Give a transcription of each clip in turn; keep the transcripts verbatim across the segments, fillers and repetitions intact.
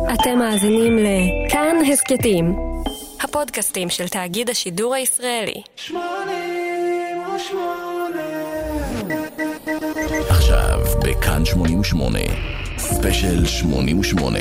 אתם מאזינים לכאן הסקטים, הפודקאסטים של תאגיד השידור הישראלי. עכשיו בכאן שמונים ושמונה, ספיישל שמונים ושמונה.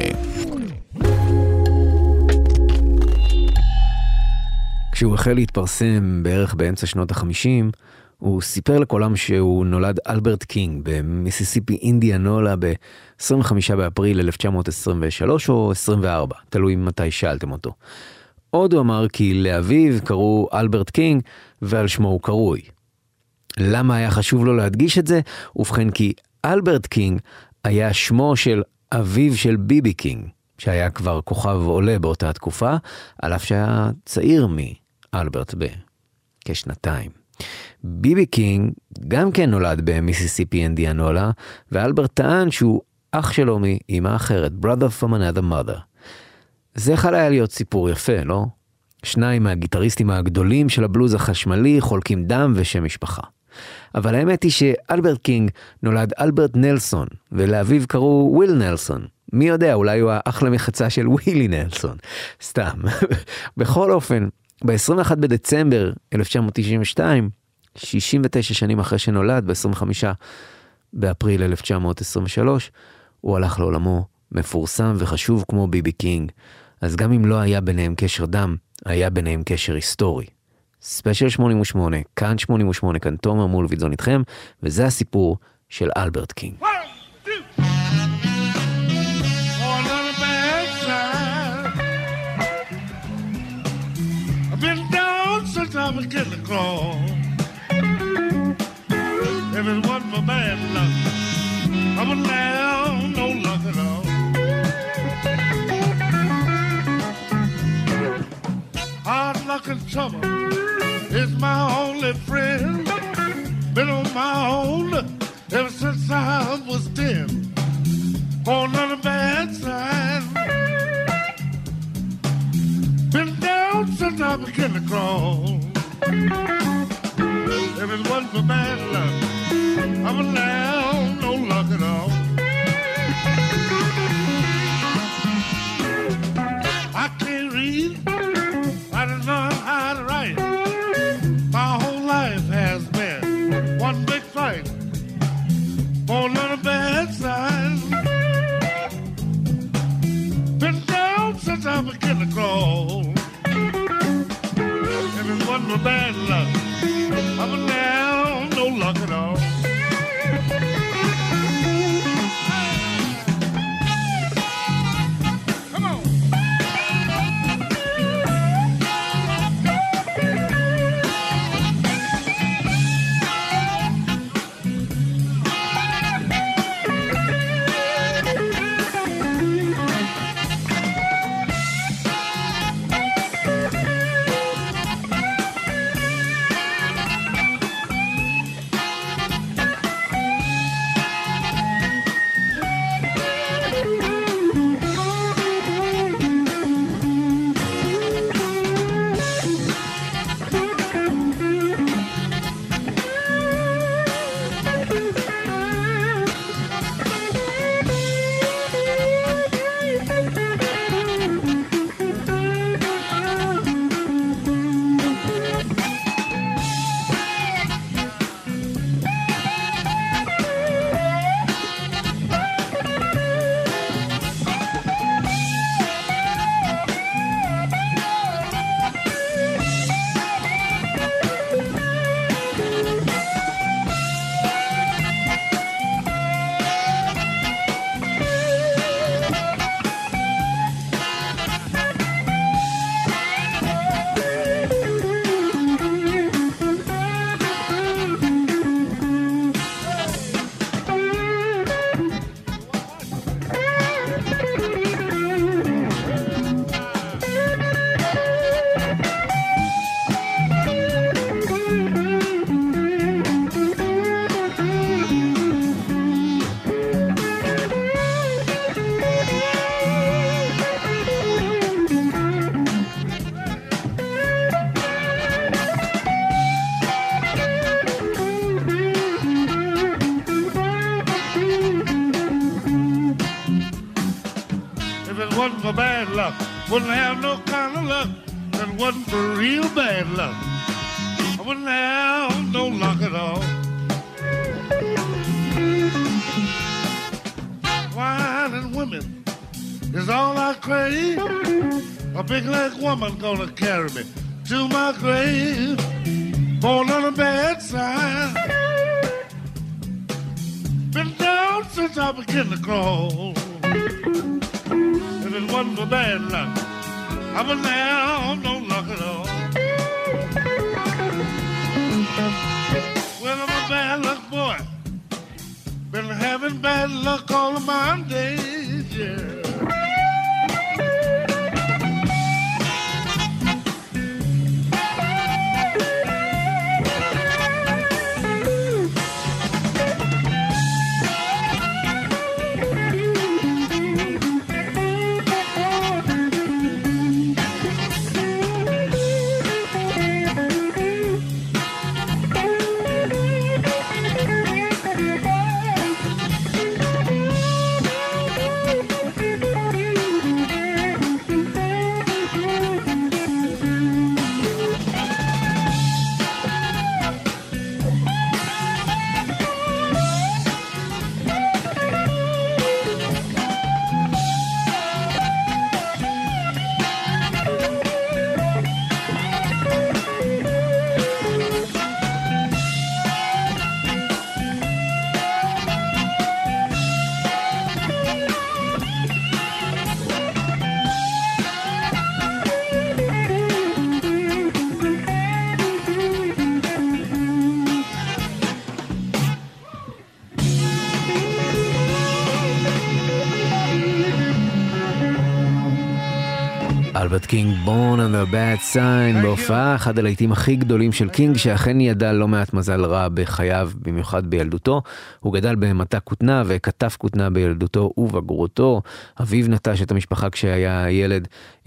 כשהוא החל להתפרסם בערך באמצע שנות החמישים, הוא סיפר לכולם שהוא נולד אלברט קינג במיסיסיפי אינדיאנולה ב-עשרים וחמישה באפריל אלף תשע מאות עשרים ושלוש או עשרים וארבע, תלוי מתי שאלתם אותו. עוד הוא אמר כי לאביו קראו אלברט קינג ועל שמו הוא קרוי. למה היה חשוב לו להדגיש את זה? ובכן כי אלברט קינג היה שמו של אביו של ביבי קינג, שהיה כבר כוכב עולה באותה תקופה, על אף שהיה צעיר מאלברט בכשנתיים. ביבי קינג גם כן נולד במיסיסיפי אינדיאנולה, ואלברט טען שהוא אח שלו מאמא אחרת, brother from another mother. זה יכול היה להיות סיפור יפה, לא? שניים מהגיטריסטים הגדולים של הבלוז החשמלי חולקים דם ושם משפחה. אבל האמת היא שאלברט קינג נולד אלברט נלסון, ולאביו קראו וויל נלסון. מי יודע, אולי הוא האח למחצה של ווילי נלסון. סתם. בכל אופן, ב-עשרים ואחד בדצמבר אלף תשע מאות תשעים ושתיים, שישים ותשע שנים אחרי שנולד, ב-עשרים וחמישה באפריל אלף תשע מאות עשרים ושלוש, הוא הלך לעולמו מפורסם וחשוב כמו ביבי קינג. אז גם אם לא היה ביניהם קשר דם, היה ביניהם קשר היסטורי. ספיישל שמונים ושמונה, כאן שמונים ושמונה, כאן תומר מולביטזון איתכם, וזה הסיפור של אלברט קינג. I'm a kid to crawl. If it wasn't for bad luck, I wouldn't have no luck at all. Hard luck and trouble is my only friend. Been on my own ever since I was ten. On none of bad side. Been down since I began to crawl. If it wasn't for bad luck, I wouldn't have no luck at all. I can't read, I don't know how to write. My whole life has been one big fight for none of bad signs. Been down since I began to crawl. If it wasn't for bad luck, I wouldn't have no luck at all. Come on. it wasn't for bad luck, wouldn't have no kind of luck. If it wasn't for real bad luck, I wouldn't have no luck at all. Wine and women is all I crave. A big leg woman gonna carry me to my grave. Born on a bad side. Been down since I began to crawl. If it wasn't for bad luck, I wouldn't have no luck at all. Well, I'm a bad luck boy. Been having bad luck all of my days, yeah. אלברט קינג, Born on the Bad Sign, בהופעה אחד הלהיטים הכי גדולים של קינג, שאכן ידע לא מעט מזל רע בחייו, במיוחד בילדותו. הוא גדל במטע כותנה וכתב כותנה בילדותו ובגרותו. אביו נטש את המשפחה כשהיה ילד,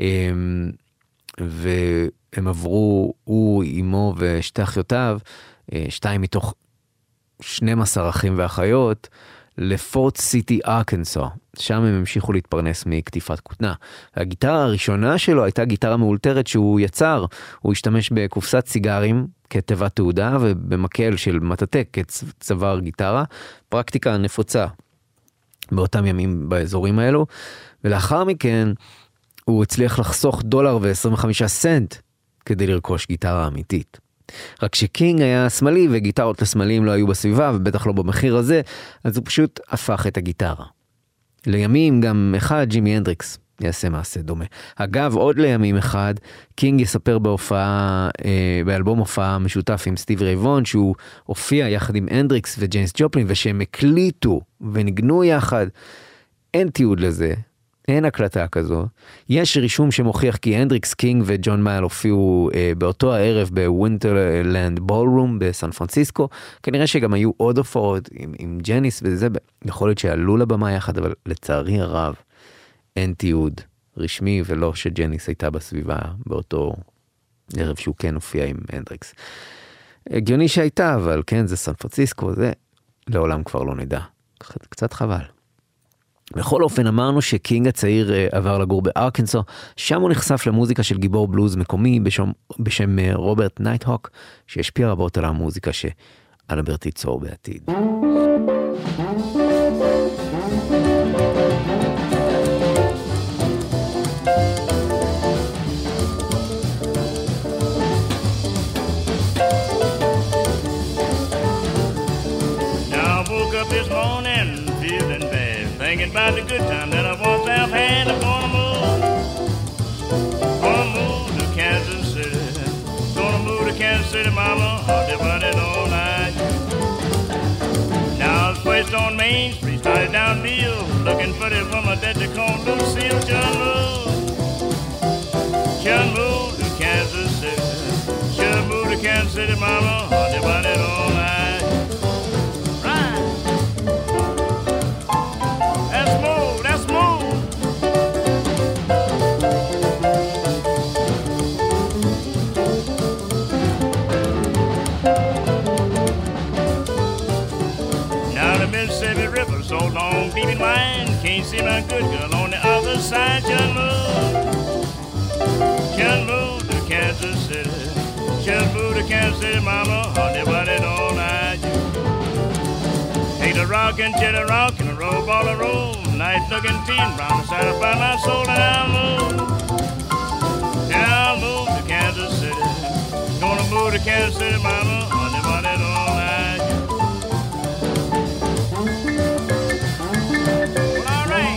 והם עברו, הוא, אמו ושתי אחיותיו, שתיים מתוך שנים עשר אחים ואחיות, לפורט סיטי, ארקנסו. שם הם המשיכו להתפרנס מכתיפת כותנה. הגיטרה הראשונה שלו הייתה גיטרה מאולתרת שהוא יצר. הוא השתמש בקופסת סיגרים כתיבת תעודה ובמקל של מטאטק כצוואר גיטרה. פרקטיקה נפוצה באותם ימים באזורים האלו. ולאחר מכן הוא הצליח לחסוך דולר ו-עשרים וחמישה סנט כדי לרכוש גיטרה אמיתית. רק שקינג היה שמאלי וגיטרות לשמאליים לא היו בסביבה ובטח לא במחיר הזה, אז הוא פשוט הפך את הגיטרה. לימים גם אחד, ג'ימי הנדריקס, יעשה מעשה דומה. אגב, עוד לימים אחד, קינג יספר בהופעה, אה, באלבום הופעה משותף עם סטיב ריי וון, שהוא הופיע יחד עם הנדריקס וג'יימס ג'ופלין, ושהם הקליטו ונגנו יחד. אין תיעוד לזה. אין הקלטה כזו. יש רישום שמוכיח כי הנדריקס, קינג וג'ון מייל הופיעו אה, באותו הערב בווינטרלנד בולרום בסן פרנסיסקו. כנראה שגם היו עוד הופעות עם, עם ג'ניס וזה, יכול להיות שעלו לבמה יחד, אבל לצערי הרב אין תיעוד רשמי, ולא שג'ניס הייתה בסביבה באותו ערב שהוא כן הופיע עם הנדריקס. הגיוני שהייתה, אבל כן, זה סן פרנסיסקו, זה לעולם כבר לא נדע. קצת חבל. בכל אופן אמרנו שקינג הצעיר עבר לגור בארקנסו, שם הוא נחשף למוזיקה של גיבור בלוז מקומי בשם, בשם רוברט נייטהוק, שהשפיע רבות על המוזיקה שאלברט ייצור בעתיד. Now I woke up this morning feeling bad, thinking about the good time that I once have had. I'm gonna move, gonna move to Kansas City, gonna move to Kansas City, mama, I'll be running all night. Now I was placed on Main Street, started down Bill, looking for the woman that they call Lucille. Should move, should move to Kansas City, should move to Kansas City, mama, I'll be running all night. So long, deep in line, can't see my good girl on the other side. City, mama, honey, but it all I do. Take the rockin' to the rockin', a roll ball a roll. Nice looking teen, brown side up by my soul, and I'll move. I'll move to Kansas City. Gonna move to Kansas City, mama, honey, but it all I do. Well, all right.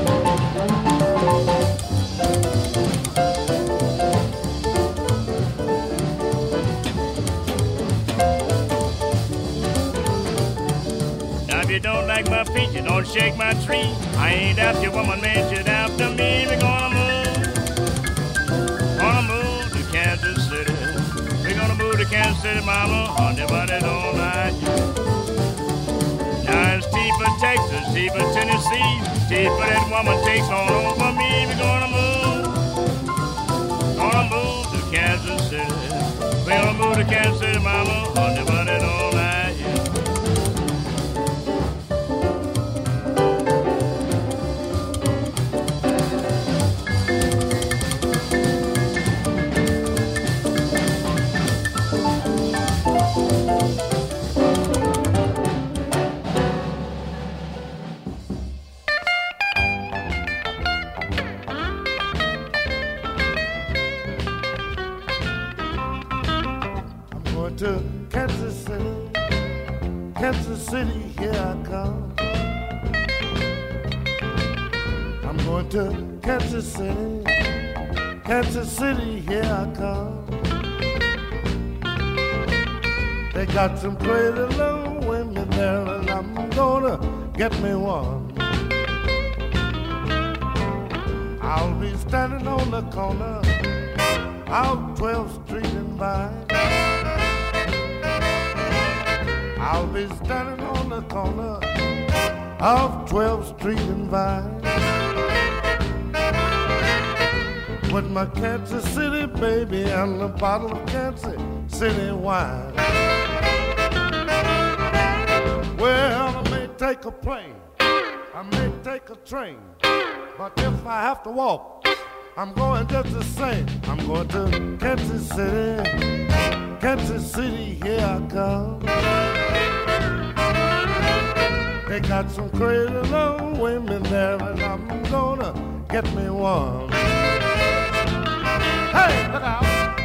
If you don't like my feet, you don't shake my tree. I ain't after your woman, man, you're after me. We're gonna move, gonna move to Kansas City. We're gonna move to Kansas City, mama, honey, but it don't like you. Now it's T for Texas, T for Tennessee, T for that woman takes all over me. We're gonna move, gonna move to Kansas City. We're gonna move to Kansas City, mama, honey, but it don't like you. To Kansas City, Kansas City, here I come. I'm going to Kansas City, Kansas City, here I come. They got some crazy little women there, and I'm gonna get me one. I'll be standing on the corner out twelfth Street and Vine. I'll be standing on the corner of twelfth Street and Vine with my Kansas City baby and a bottle of Kansas City wine. Well, I may take a plane, I may take a train, but if I have to walk, I'm going just the same. I'm going to Kansas City, Kansas City, here I come. They got some crazy little women there, and I'm gonna get me one. Hey, look out!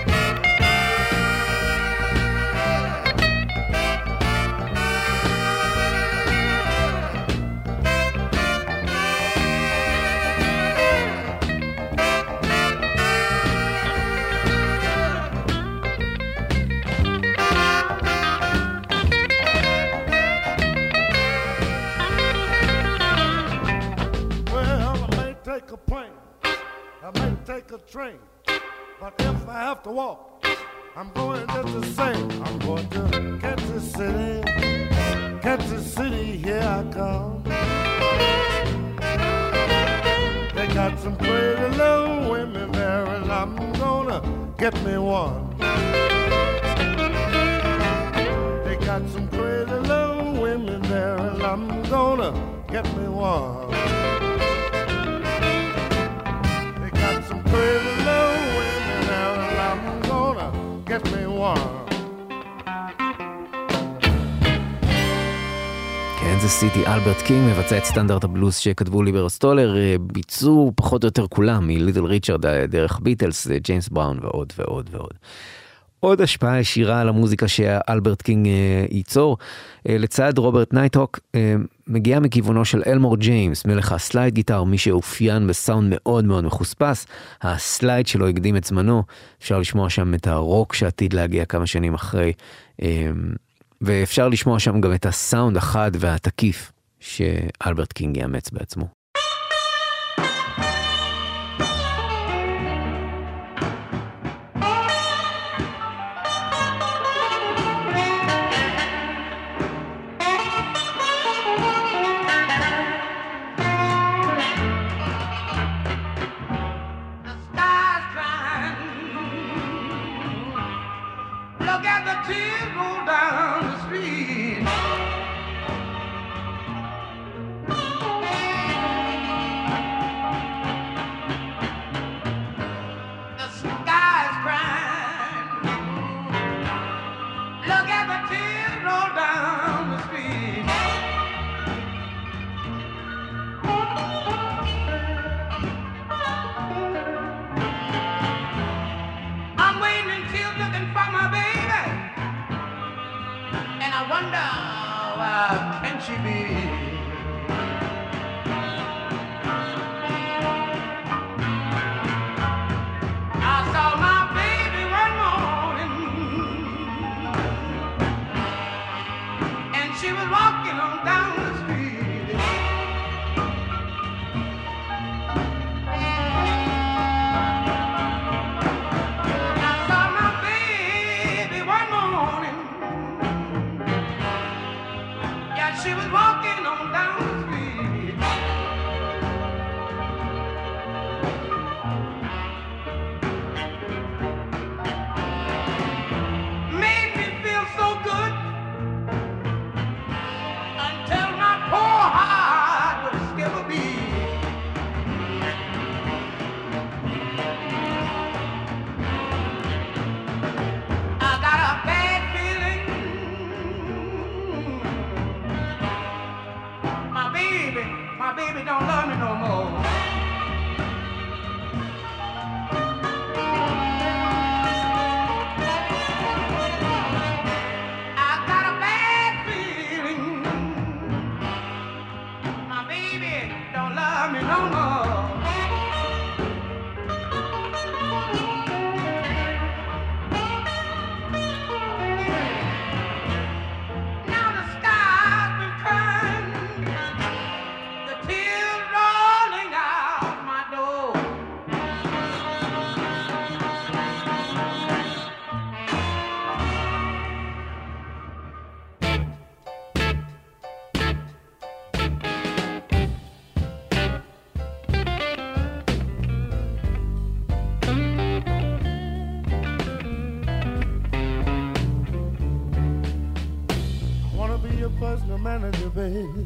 Take a plane, I may take a train, but if I have to walk, I'm going just the same. I'm going to Kansas City, Kansas City, here I come. They got some pretty little women there, and I'm gonna get me one. They got some pretty little women there, and I'm gonna get me one. Some pretty little women there, and I'm gonna get me one. קנזס סיטי, אלברט קינג מבצע את סטנדרט הבלוז שכתבו ליבר סטולר, ביצעו פחות או יותר כולם, מליטל ריצ'רד דרך ביטלס, ג'יימס בראון ועוד ועוד ועוד. עוד השפעה ישירה על המוזיקה שאלברט קינג ייצור, לצד רוברט נייטהוק, מגיעה מכיוונו של אלמור ג'יימס, מלך הסלייד גיטר, מי שאופיין בסאונד מאוד מאוד מחוספס, הסלייד שלו הקדים את זמנו, אפשר לשמוע שם את הרוק שעתיד להגיע כמה שנים אחרי, ואפשר לשמוע שם גם את הסאונד החד והתקיף שאלברט קינג יאמץ בעצמו. Down the street. she be? I saw my baby one morning, and she was walking on down the street. I saw my baby one morning, yeah, she was walking on down the street. Made me feel so good until my poor heart would skip a beat. I got a bad feeling my baby, my baby don't love me no more. I got a bad feeling my baby don't love me no more. Now the sky's been crying, the tears rolling out my door. I wanna be your personal manager, baby.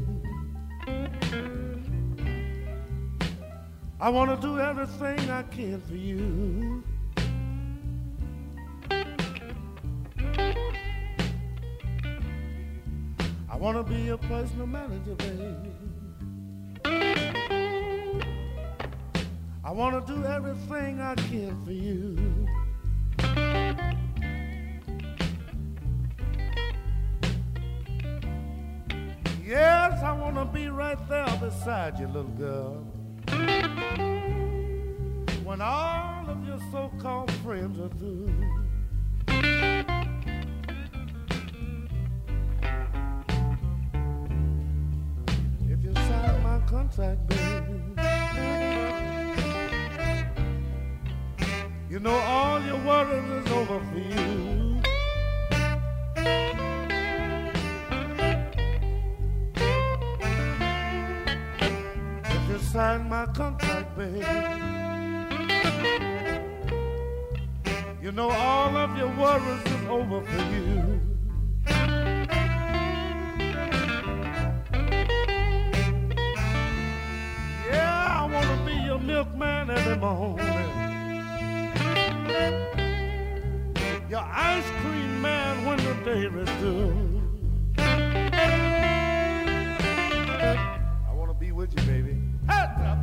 I wanna do everything I can for you. I wanna be your personal manager, baby. I wanna do everything I can for you. Yes, I wanna be right there beside you, little girl, when all of your so-called friends are through. If you sign my contract, baby, you know all your worries is over for you. If you sign my contract, baby, you know all of your worries is over for you. Yeah, I wanna be your milkman every morning, your ice cream man when the day is due. I wanna be with you, baby. Heads up.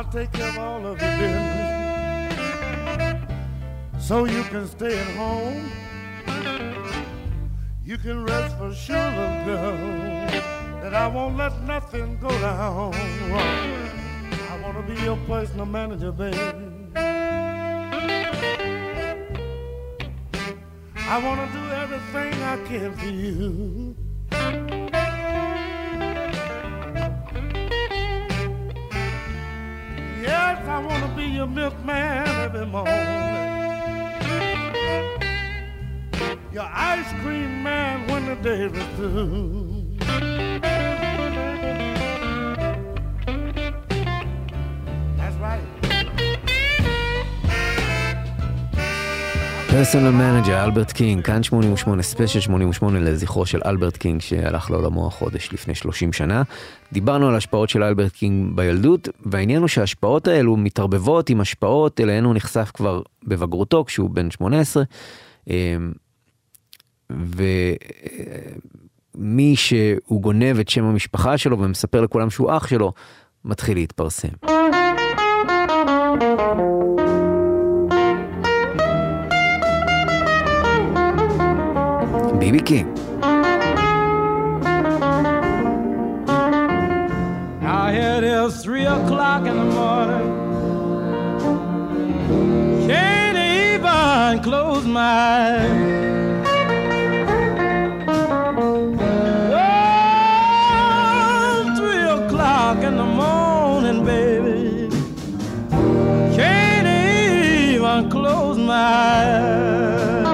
I'll take care of all of your business so you can stay at home. You can rest for sure, little girl, that I won't let nothing go down wrong. I want to be your personal manager, baby. I want to do everything I can for you. Yes, I want to be your milkman every morning, your ice cream man when the day is through. That's right. פרסונל מנג'ר, אלברט קינג, כאן שמונים ושמונה, ספיישל שמונים ושמונה לזכרו של אלברט קינג שהלך לעולמו החודש לפני שלושים שנה. דיברנו על השפעות של אלברט קינג בילדות, והעניין הוא שההשפעות האלו מתערבבות עם השפעות אליהן הוא נחשף כבר בבגרותו כשהוא בן שמונה עשרה, ומי שהוא גונב את שם המשפחה שלו ומספר לכולם שהוא אח שלו, מתחיל להתפרסם. ביבי קינג. Now it is three o'clock in the morning. Can't even close my eyes. In the morning, baby, can't even close my eyes.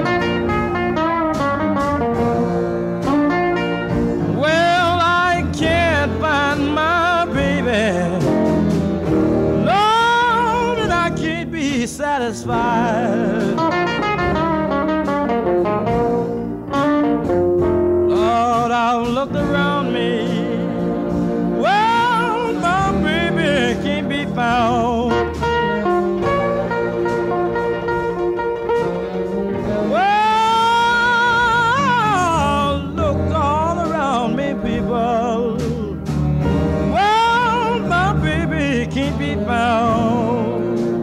Well, I can't find my baby, Lord, and I can't be satisfied. Lord, I've looked around me, found. Well, look all around me, people. Well, my baby can't be found.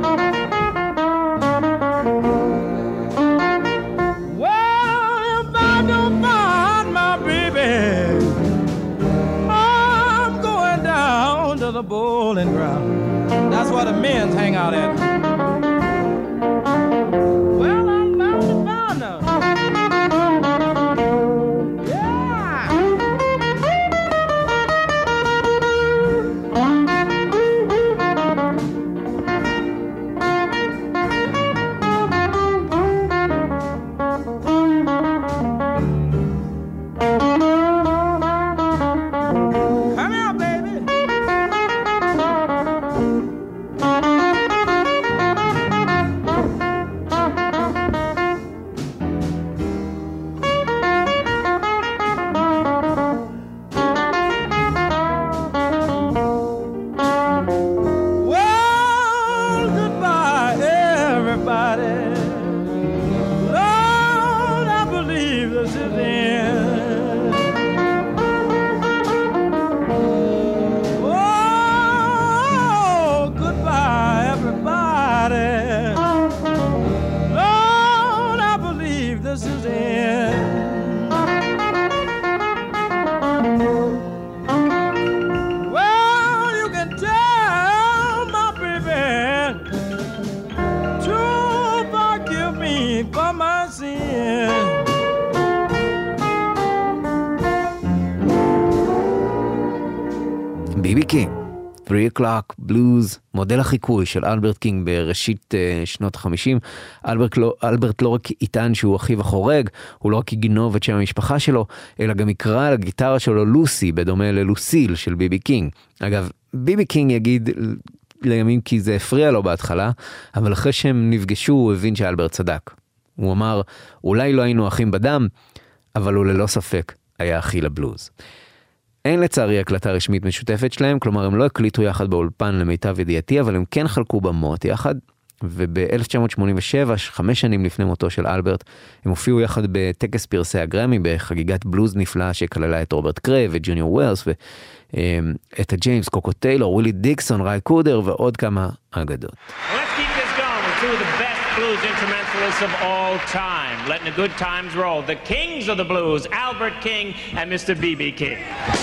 Well, if I don't find my baby, I'm going down to the bowling ground. That's where the men hang out at. Well, I'm bound to find her. Come here, baby. ביבי קינג, three o'clock blues, מודל החיקוי של אלברט קינג בראשית uh, שנות ה-חמישים. אלברט לא, אלברט לא רק יטען שהוא אחיו החורג, הוא לא רק יגנוב את שם המשפחה שלו, אלא גם יקרא על הגיטרה שלו לוסי, בדומה ללוסיל של ביבי קינג. אגב, ביבי קינג יגיד לימים כי זה הפריע לו בהתחלה, אבל אחרי שהם נפגשו הוא הבין שאלברט צדק. הוא אמר, אולי לא היינו אחים בדם, אבל הוא ללא ספק היה אחי לבלוז. אין לצערי הקלטה רשמית משותפת שלהם, כלומר הם לא הקליטו יחד באולפן למיטב ידיעתי, אבל הם כן חלקו במות יחד. וב-אלף תשע מאות שמונים ושבע, חמש שנים לפני מותו של אלברט, הם הופיעו יחד בטקס פרסי הגרמי, בחגיגת בלוז נפלאה שכללה את רוברט קריי וג'וניור ווילס, ואת הג'יימס, קוקו טיילור, ווילי דיקסון, ריי קודר ועוד כמה אגדות. Let's keep this going with two of the best blues instrumentalists of all time. Letting the good times roll. The kings of the blues, Albert King and Mister B B King.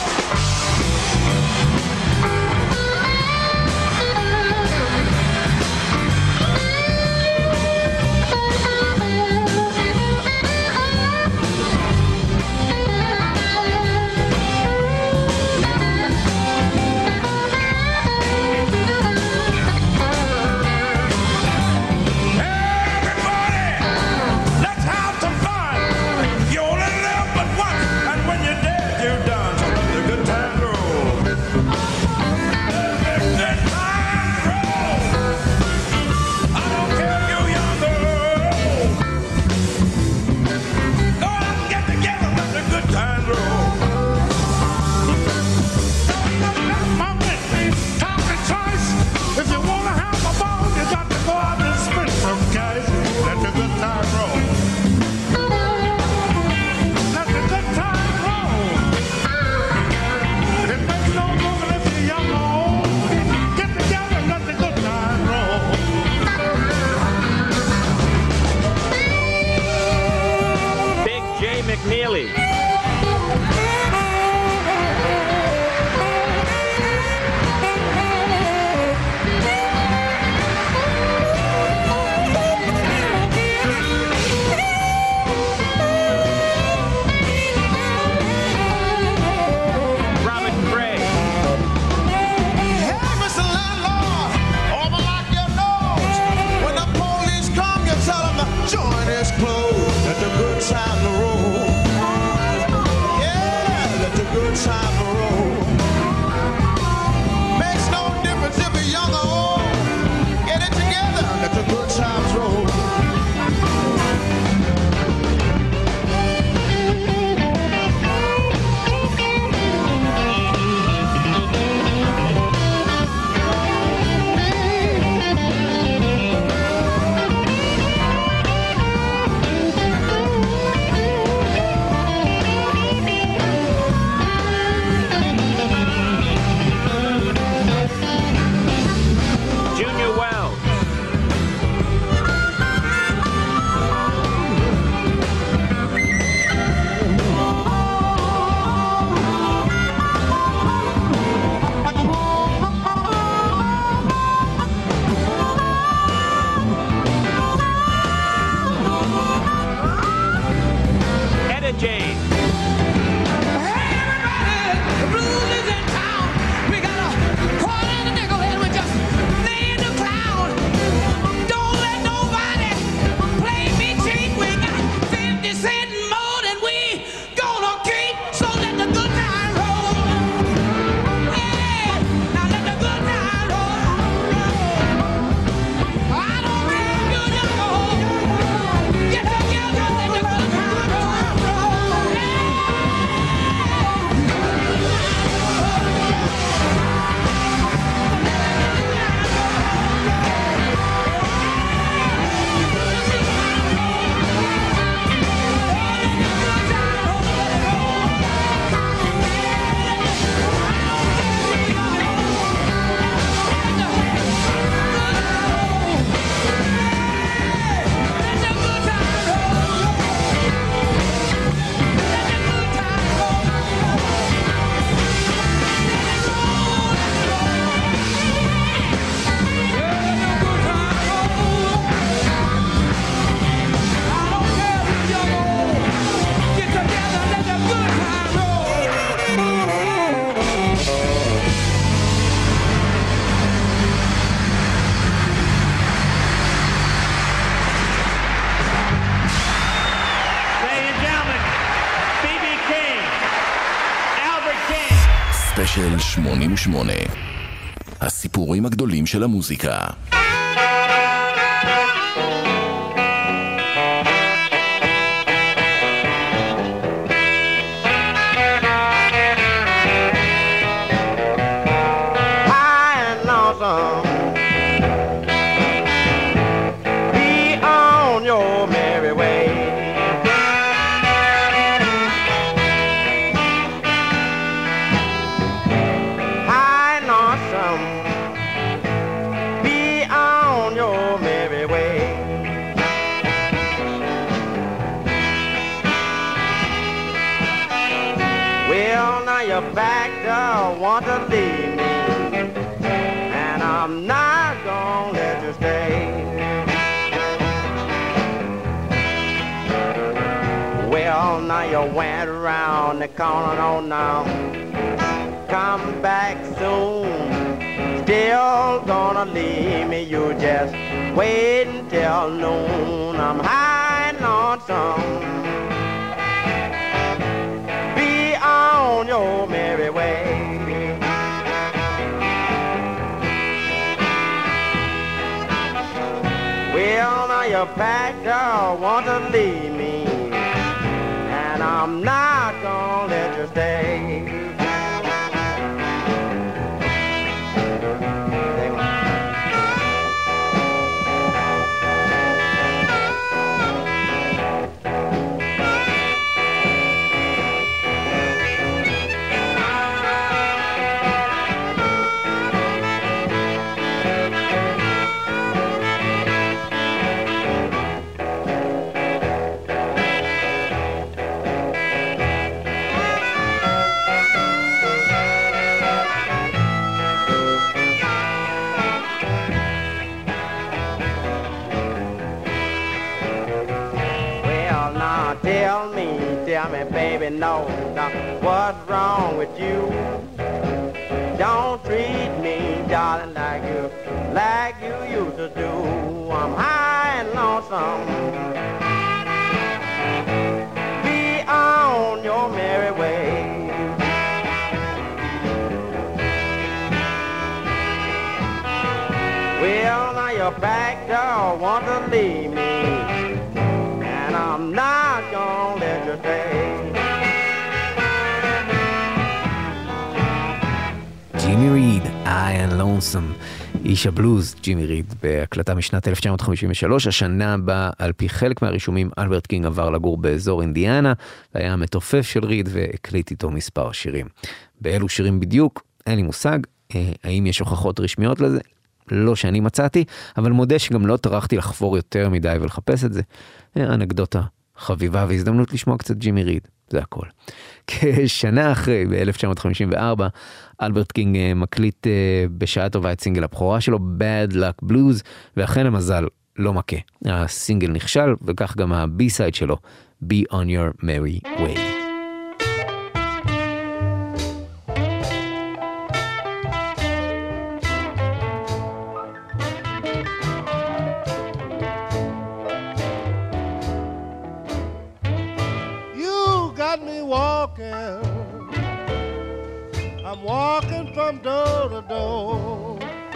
ספיישל שמונים ושמונה, הסיפורים הגדולים של המוזיקה. don't want to leave me, and I'm not gonna let you stay. Well, now you went around the corner, oh now, come back soon. Still gonna leave me, you just wait until noon. I'm high and lonesome. Be on your merry way. Well, now you packed up, want to leave me, and I'm not gonna let you stay. Tell me, tell me, baby, no, no, what's wrong with you? Don't treat me, darling, like you, like you used to do. I'm high and lonesome. Be on your merry way. Well, now you're back, don't want to leave me, and I'm not gonna let you stay. ג'ימי ריד, I am lonesome, איש הבלוז, ג'ימי ריד, בהקלטה משנת אלף תשע מאות חמישים ושלוש, השנה בה על פי חלק מהרישומים אלברט קינג עבר לגור באזור אינדיאנה, והיה המתופף של ריד והקליט איתו מספר שירים. באלו שירים בדיוק, אין לי מושג, האם יש הוכחות רשמיות לזה? לא שאני מצאתי, אבל מודה שגם לא טרחתי לחפור יותר מדי ולחפש את זה. אנקדוטה חביבה והזדמנות לשמוע קצת ג'ימי ריד, זה הכל. כשנה אחרי, ב-אלף תשע מאות חמישים וארבע, אלברט קינג מקליט בשעה טובה את סינגל הבכורה שלו, Bad Luck Blues, ואכן המזל לא מכה. הסינגל נכשל, וכך גם הבי-סייד שלו, Be on Your Merry Way. I'm walking from door to door.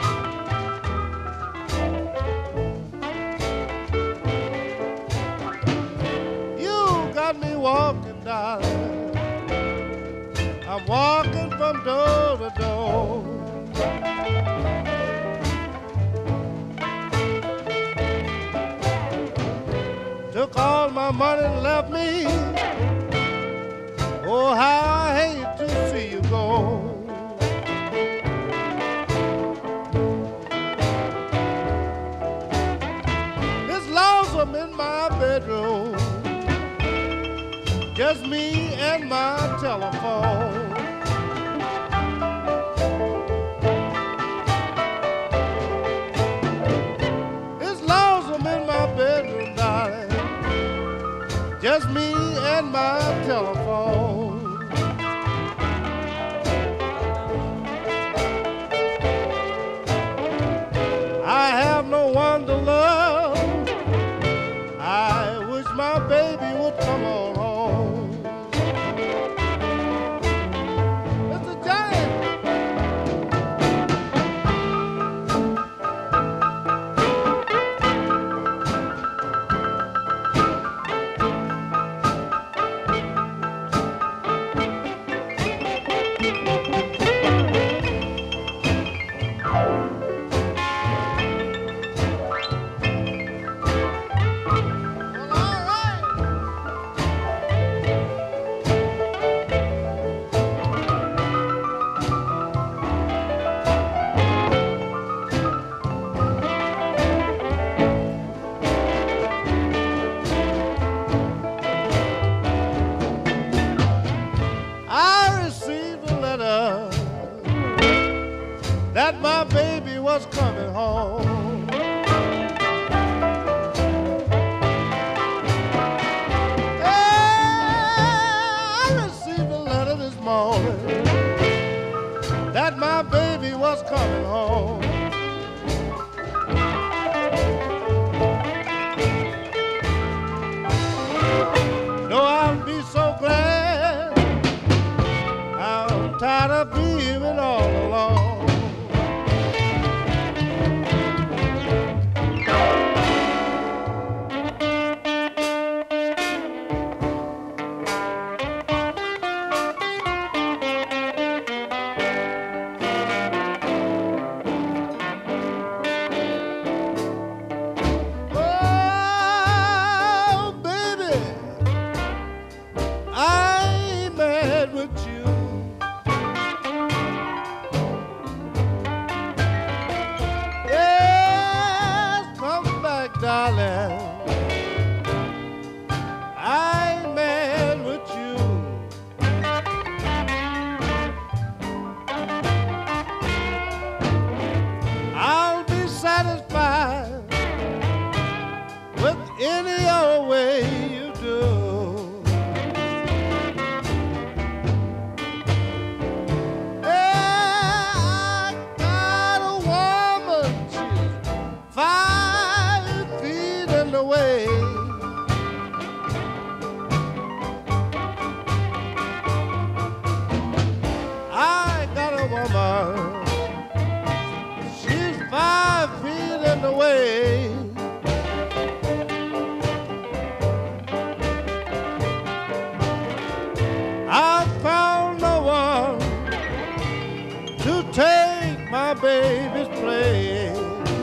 You got me walking, darling. I'm walking from door to door. Took all my money and left me. Oh, how I hate to see you go. It's lonesome in my bedroom, just me and my telephone. It's lonesome in my bedroom, darling, just me and my telephone. my baby was coming home. I received a letter this morning that my baby was coming home. No, I'll be so glad. I'm tired of being all alone. Baby's play.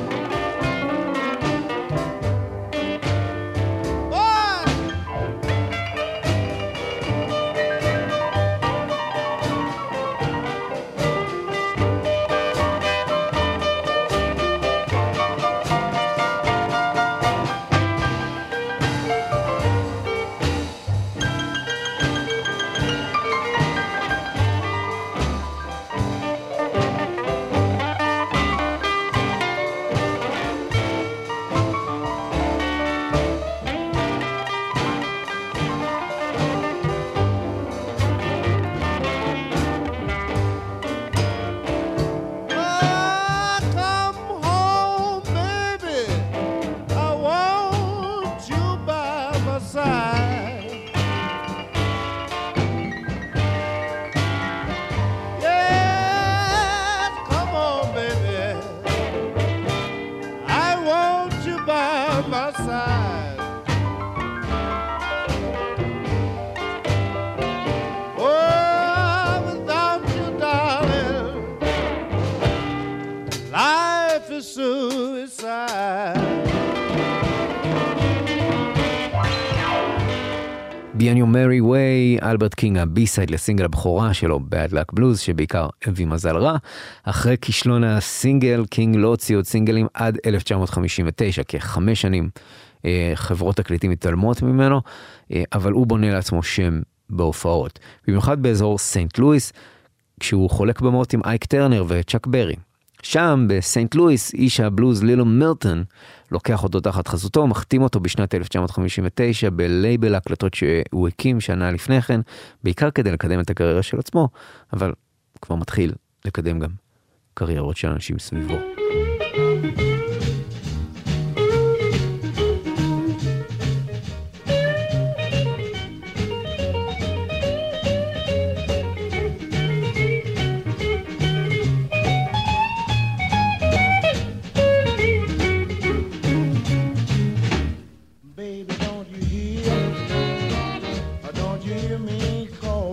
Be on your merry way, אלברט קינג, הבי-סייד לסינגל הבכורה שלו, Bad Luck Blues, שבעיקר הביא מזל רע. אחרי כישלון הסינגל, קינג לא הוציא עוד סינגלים עד אלף תשע מאות חמישים ותשע, כחמש שנים אה, חברות תקליטים מתעלמות ממנו, אה, אבל הוא בונה לעצמו שם בהופעות. במיוחד באזור סנט לואיס, כשהוא חולק במות עם אייק טרנר וצ'אק ברי. שם, בסנט לואיס, איש הבלוז לילו מילטון, לוקח אותו תחת חסותו, מחתים אותו בשנת אלף תשע מאות חמישים ותשע בלייבל ההקלטות שהוא הקים שנה לפני כן, בעיקר כדי לקדם את הקריירה של עצמו, אבל כבר מתחיל לקדם גם קריירות של אנשים סביבו.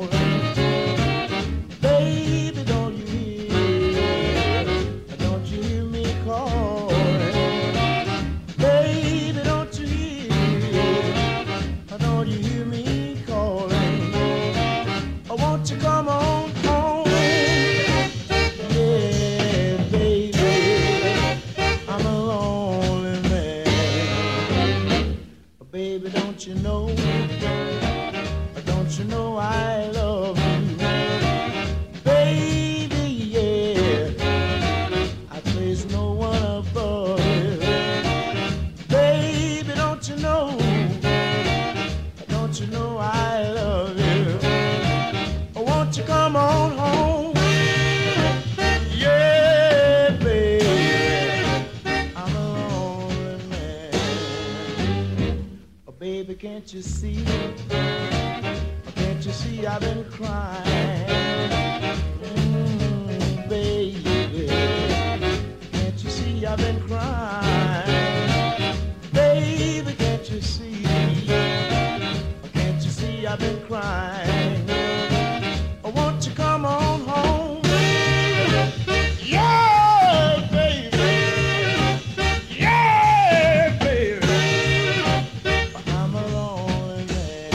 Don't you can't you see? Can't you see I've been crying? Mm, baby, can't you see I've been crying? Baby, can't you see? Can't you see I've been crying? Oh, won't you come on home? Yeah, baby. Yeah, baby. I'm a lonely man.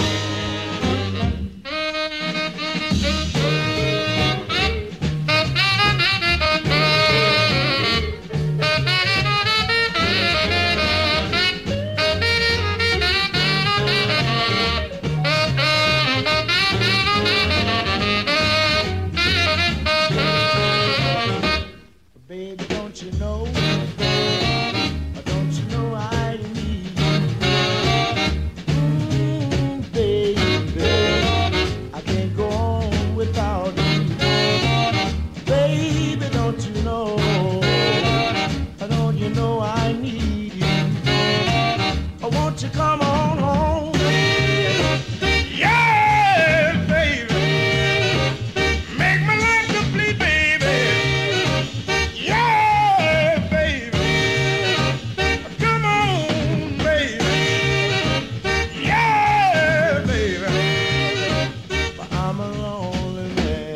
Baby, don't you know? Don't you know I need you? Mm, baby, I can't go on without you. Baby, don't you know? Don't you know I need you? Oh, won't you come on home? Yeah, baby, make my life complete, baby. Yeah, baby, come on, baby. Yeah, baby, but I'm a lonely man.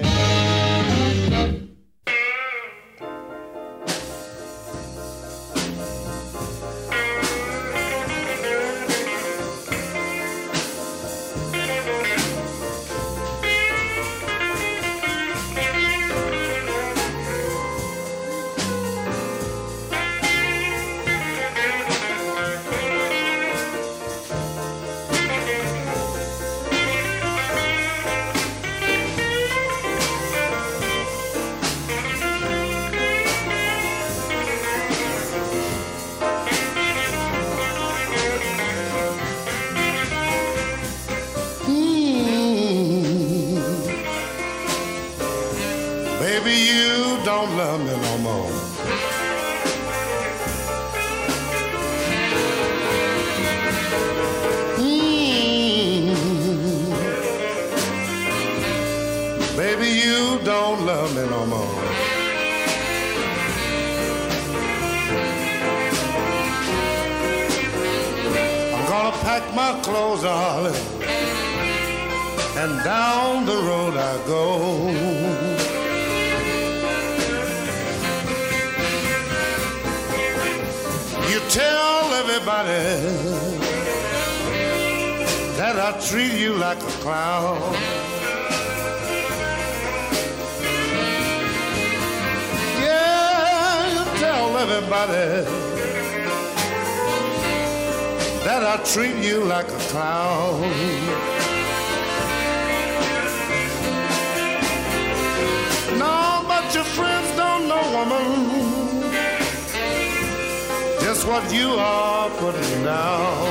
Baby, you don't love me no more. Mm. Baby, you don't love me no more. I'm gonna pack my clothes, darling, and down the road I go. You tell everybody that I treat you like a clown. Yeah, you tell everybody that I treat you like a clown. No, but your friends don't know, woman, just what you are putting down.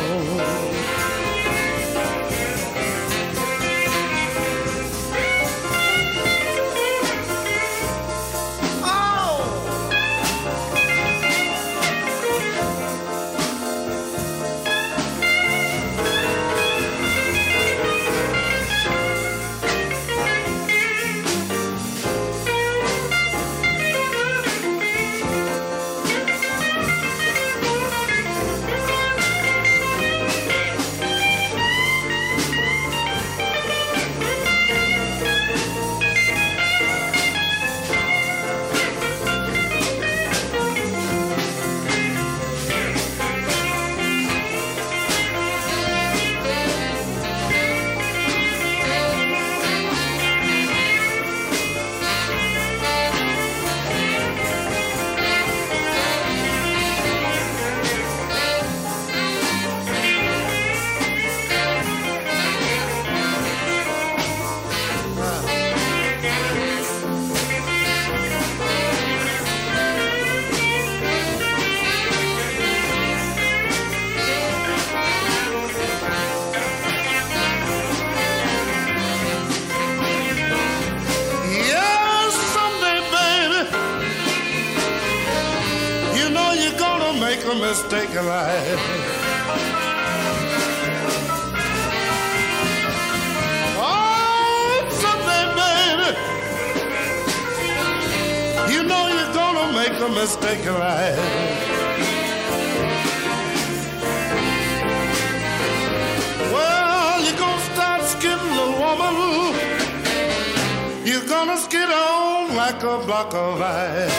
make a mistake in life. You know you're gonna make a mistake in life. Well, you're gonna start skidding, little woman. You're gonna skid on like a block of ice.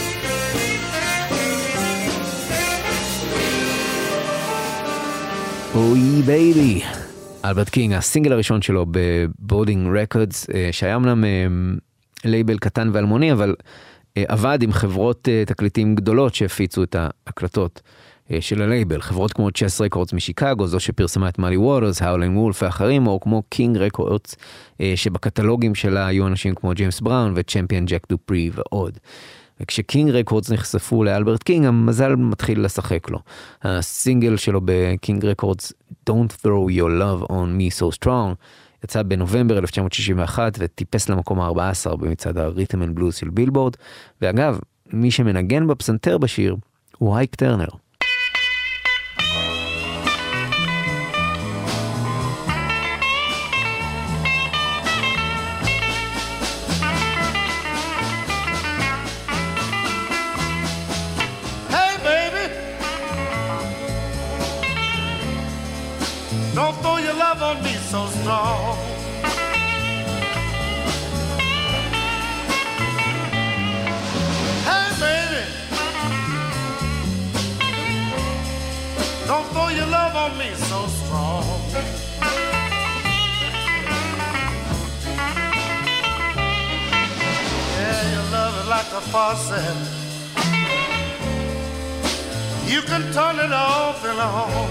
אוי בייבי, אלברט קינג, הסינגל הראשון שלו בבורדינג רקורדס, שהיה אמנם לייבל קטן ואלמוני, אבל עבד עם חברות תקליטים גדולות שהפיצו את ההקלטות של הלייבל, חברות כמו צ'ס רקורדס משיקגו, זו שפרסמה את מאלי ווטרס, האולינג וולף ואחרים, או כמו קינג רקורדס, שבקטלוגים שלה היו אנשים כמו ג'יימס בראון וצ'מפיון ג'ק דופרי ועוד. וכשקינג רקורדס נחשפו לאלברט קינג, המזל מתחיל לשחק לו. הסינגל שלו בקינג רקורדס, Don't Throw Your Love on Me So Strong, יצא בנובמבר אלף תשע מאות שישים ואחת וטיפס למקום ה-ארבע עשרה במצעד הריתם אנד בלוז של בילבורד, ואגב, מי שמנגן בפסנתר בשיר הוא הייק טרנר. Don't throw your love on me so strong. Hey, baby, don't throw your love on me so strong. Yeah, your love is like a faucet. You can turn it off and on.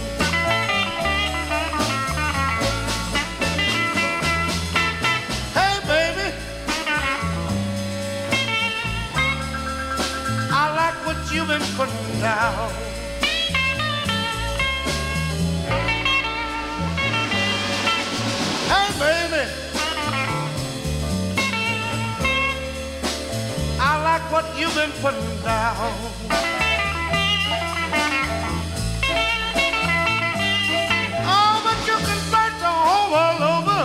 You've been putting down. Hey, baby, I like what you've been putting down. Oh, but you can search the whole world over,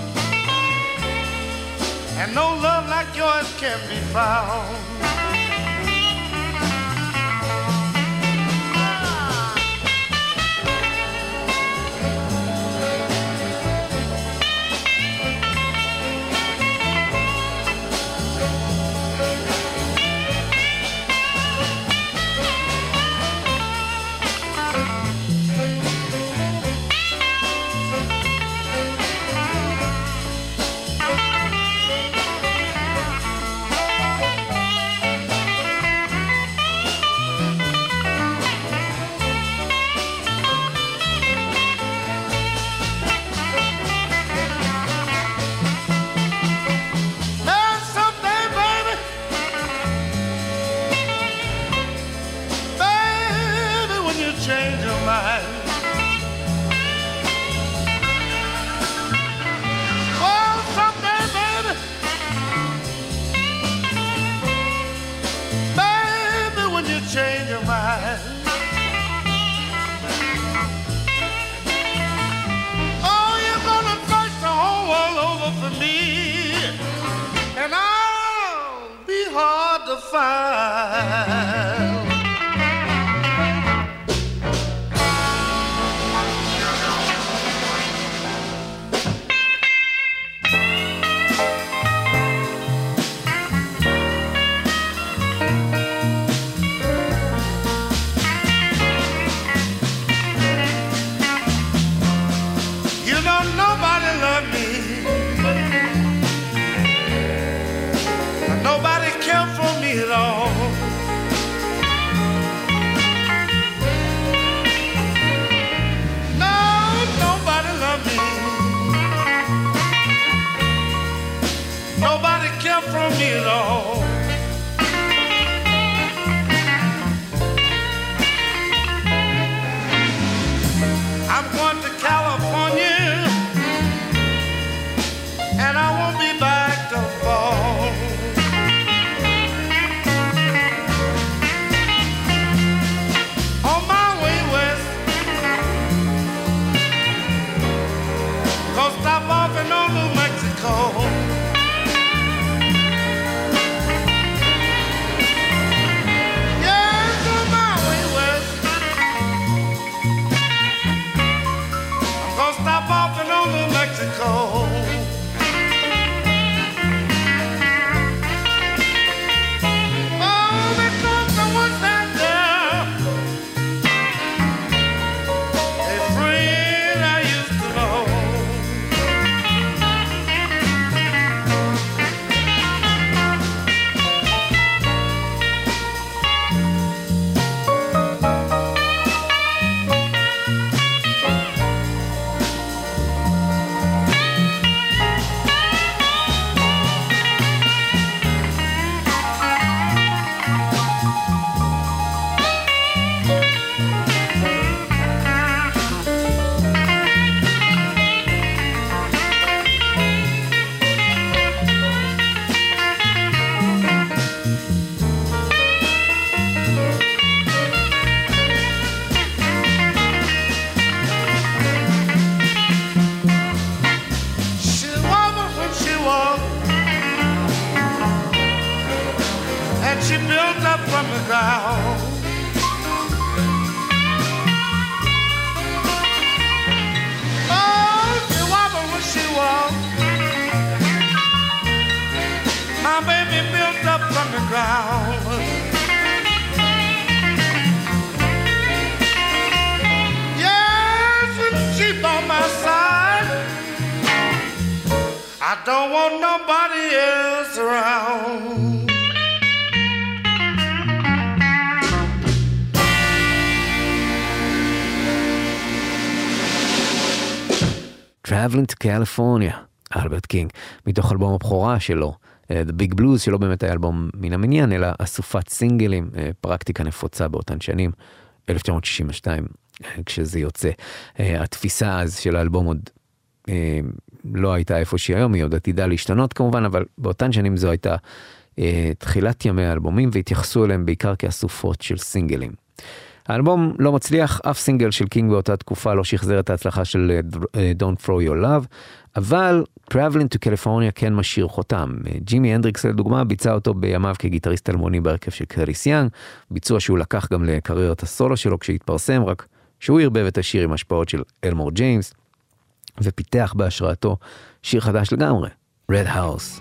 and no love like yours can be found. Nobody cared for me at all. that she built up from the ground. Oh, she wobbled when she walked. My baby built up from the ground. Yes, when she's on my side, I don't want nobody else around. Traveling to California, אלברט קינג, מתוך אלבום הבכורה שלו, The Big Blues, שלא באמת היה אלבום מן המניין, אלא אסופת סינגלים, פרקטיקה נפוצה באותן שנים, אלף תשע מאות שישים ושתיים, כשזה יוצא. התפיסה אז של האלבום עוד לא הייתה איפה שהיא היום, היא עוד עתידה להשתנות כמובן, אבל באותן שנים זו הייתה תחילת ימי האלבומים, והתייחסו אליהם בעיקר כאסופות של סינגלים. האלבום לא מצליח, אף סינגל של קינג באותה תקופה לא שחזר את ההצלחה של Don't Throw Your Love, אבל Traveling to California כן משאיר חותם. ג'ימי הנדריקס לדוגמה ביצע אותו בימיו כגיטריסט אלמוני בהרכב של קרטיס יאנג, ביצוע שהוא לקח גם לקריירת הסולו שלו כשהתפרסם, רק שהוא הרבב את השיר עם השפעות של אלמור ג'יימס, ופיתח בהשראתו שיר חדש לגמרי, Red House.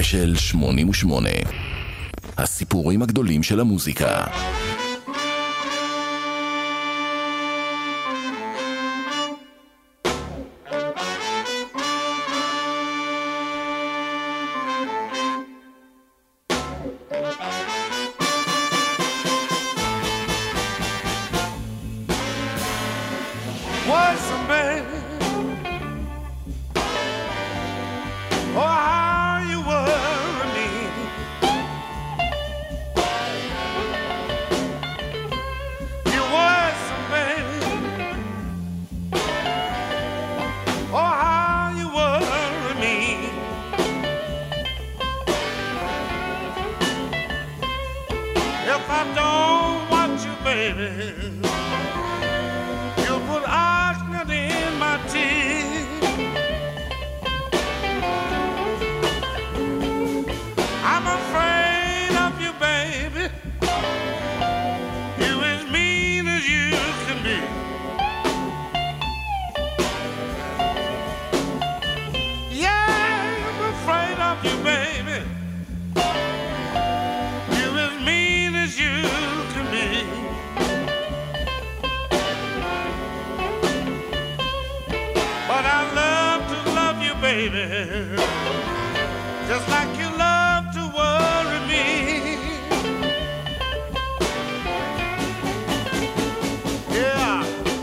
ספיישל שמונים ושמונה. הסיפורים הגדולים של המוזיקה. Just like you love to worry me. Yeah.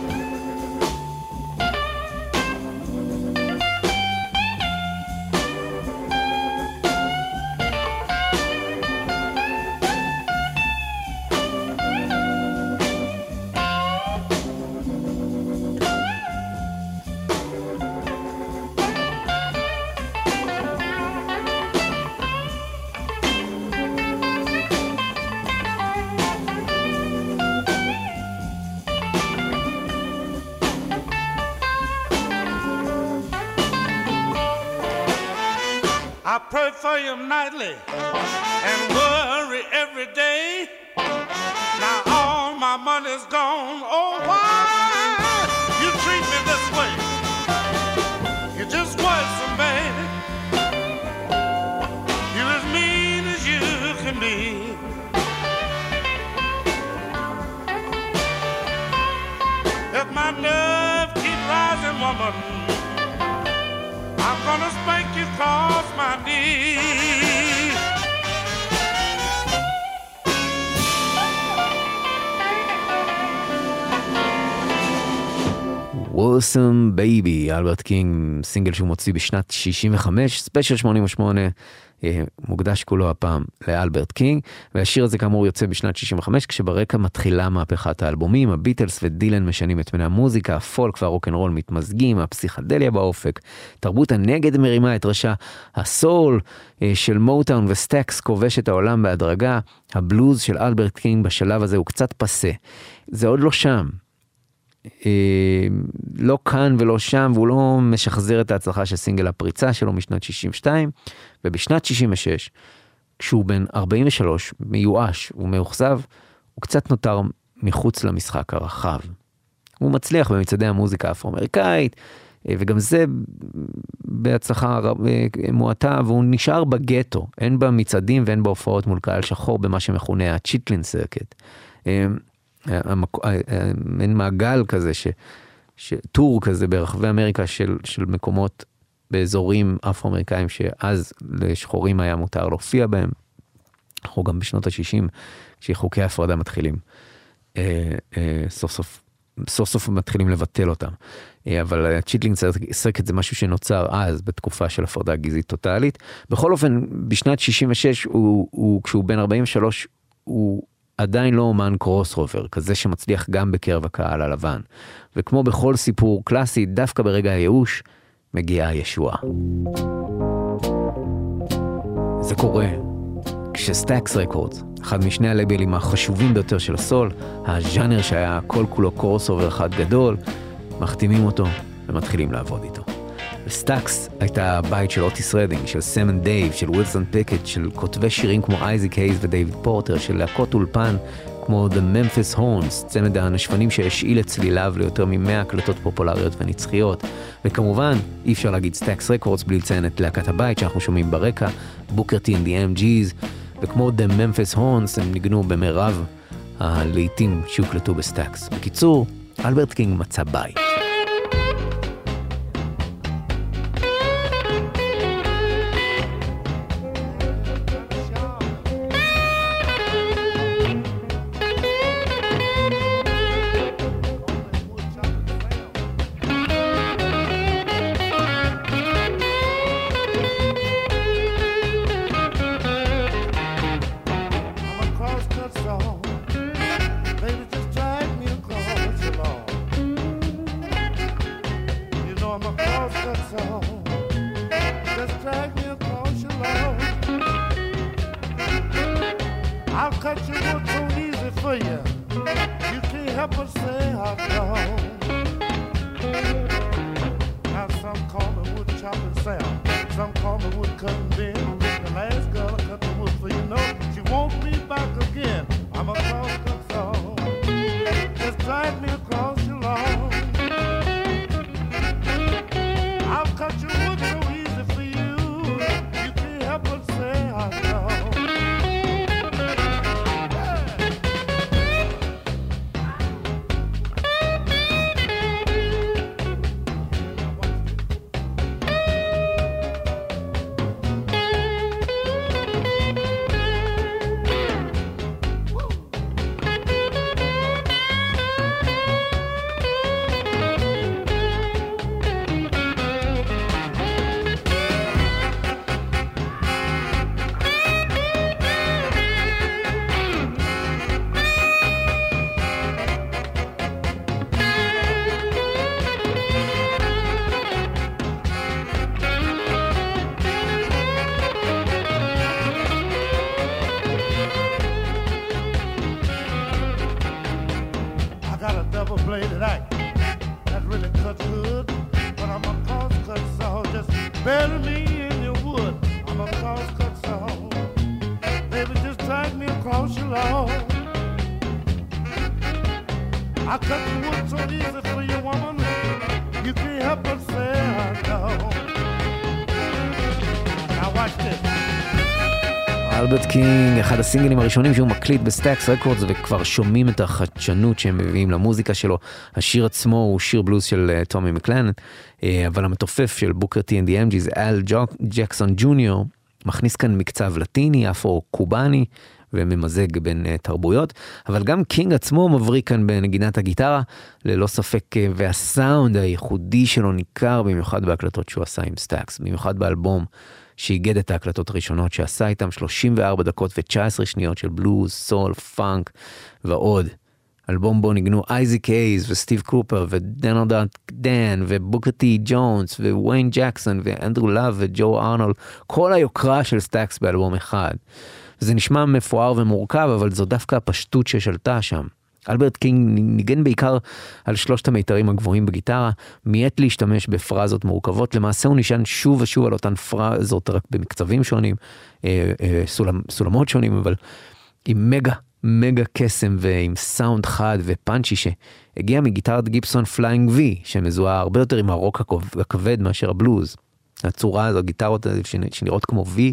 I pray for you nightly and worry every day. Now all my money's gone. Oh, why you treat me this way? You're just worrisome, baby. You're as mean as you can be. If my nerve keep rising, woman, I'm gonna spank you across my knees. Awesome Baby, אלברט קינג, סינגל שהוא מוציא בשנת שישים וחמש, ספיישל שמונים ושמונה, מוקדש כולו הפעם לאלברט קינג, והשיר הזה כאמור יוצא בשנת שישים וחמש, כשברקע מתחילה מהפכת האלבומים, הביטלס ודילן משנים את פני המוזיקה, הפולק והרוקנרול מתמזגים, הפסיכדליה באופק, תרבות הנגד מרימה את ראשה, הסול של מוטאון וסטקס כובש את העולם בהדרגה, הבלוז של אלברט קינג בשלב הזה הוא קצת פסה, זה עוד לא שם. לא כאן ולא שם, והוא לא משחזר את ההצלחה של סינגל הפריצה שלו משנת שישים ושתיים, ובשנת שישים ושש, כשהוא בן ארבעים ושלוש, מיואש ומאוכזב, הוא קצת נותר מחוץ למשחק הרחב. הוא מצליח במצעדי המוזיקה האפרו-אמריקאית, וגם זה בהצלחה מועטה, והוא נשאר בגטו, אין במצעדים ואין בהופעות מול קהל שחור, במה שמכונה הצ'יטלין סרקט. אין מעגל כזה, ש, ש, טור כזה ברחבי אמריקה של, של מקומות באזורים אפרו-אמריקאים שאז לשחורים היה מותר להופיע בהם. אנחנו גם בשנות ה-שישים, כשחוקי ההפרדה מתחילים, אה, אה, סוף סוף, סוף סוף מתחילים לבטל אותם. אה, אבל הצ'יטלינג סרקט זה משהו שנוצר אז, בתקופה של הפרדה גזעית טוטלית. בכל אופן, בשנת שישים ושש, הוא, הוא, כשהוא בן ארבעים ושלוש, הוא עדיין לא אומן קרוס רובר, כזה שמצליח גם בקרב הקהל הלבן. וכמו בכל סיפור קלאסי, דווקא ברגע הייאוש, מגיעה הישועה. זה קורה כשסטאקס רקורדס, אחד משני הלייבלים החשובים ביותר של הסול, הז'אנר שהיה כל כולו קרוס רובר אחד גדול, מחתימים אותו ומתחילים לעבוד איתו. וסטאקס הייתה הבית של אוטיס רדינג, של סם אנד דייב, של ווילסון פיקט, של כותבי שירים כמו אייזיק הייז ודייוויד פורטר, של להקות אולפן כמו The Memphis Horns, צמד הנשפנים שהשאיל את צליליו ליותר ממאה הקלטות פופולריות ונצחיות. וכמובן, אי אפשר להגיד סטאקס רקורדס בלי לציין את להקת הבית שאנחנו שומעים ברקע, בוקר טי and the אם ג'יז, וכמו The Memphis Horns הם ניגנו במרב הלעיתים שהוקלטו בסטאקס. בקיצור, אלברט קינג מצא בית. אלברט קינג, אחד הסינגלים הראשונים שהוא מקליט בסטאקס רקורדס, וכבר שומעים את החדשנות שהם מביאים למוזיקה שלו. השיר עצמו הוא שיר בלוז של טומי מקלנן, אבל המתופף של בוקר טי and the אם ג'יז, אל ג'קסון ג'וניור, מכניס כאן מקצב לטיני, אפרו-קובני, וממזג בין תרבויות, אבל גם קינג עצמו מבריק כאן בנגינת הגיטרה, ללא ספק, והסאונד הייחודי שלו ניכר, במיוחד בהקלטות שהוא עשה עם סטאקס, במיוחד באלבום שהיגד את ההקלטות הראשונות שעשה איתם, שלושים וארבע דקות ו-תשע עשרה שניות של בלוז, סול, פאנק ועוד. אלבום בו ניגנו אייזיק אייז וסטיב קופר ודנלד דן ובוקר טי ג'ונס וויין ג'קסון ואנדרו לאב וג'ו ארנולד, כל היוקרה של סטאקס באלבום אחד. זה נשמע מפואר ומורכב, אבל זו דווקא הפשטות ששלטה שם. אלברט קינג ניגן בעיקר על שלושת המיתרים הגבוהים בגיטרה, מיית להשתמש בפרזות מורכבות, למעשה הוא נשען שוב ושוב על אותן פרזות, רק במקצבים שונים, סולמ, סולמות שונים, אבל עם מגה, מגה קסם ועם סאונד חד ופאנצ'י שהגיע מגיטרת גיבסון פליינג וי, שמזוהה הרבה יותר עם הרוק הכבד מאשר הבלוז. הצורה הזו, גיטרות שנראות כמו וי,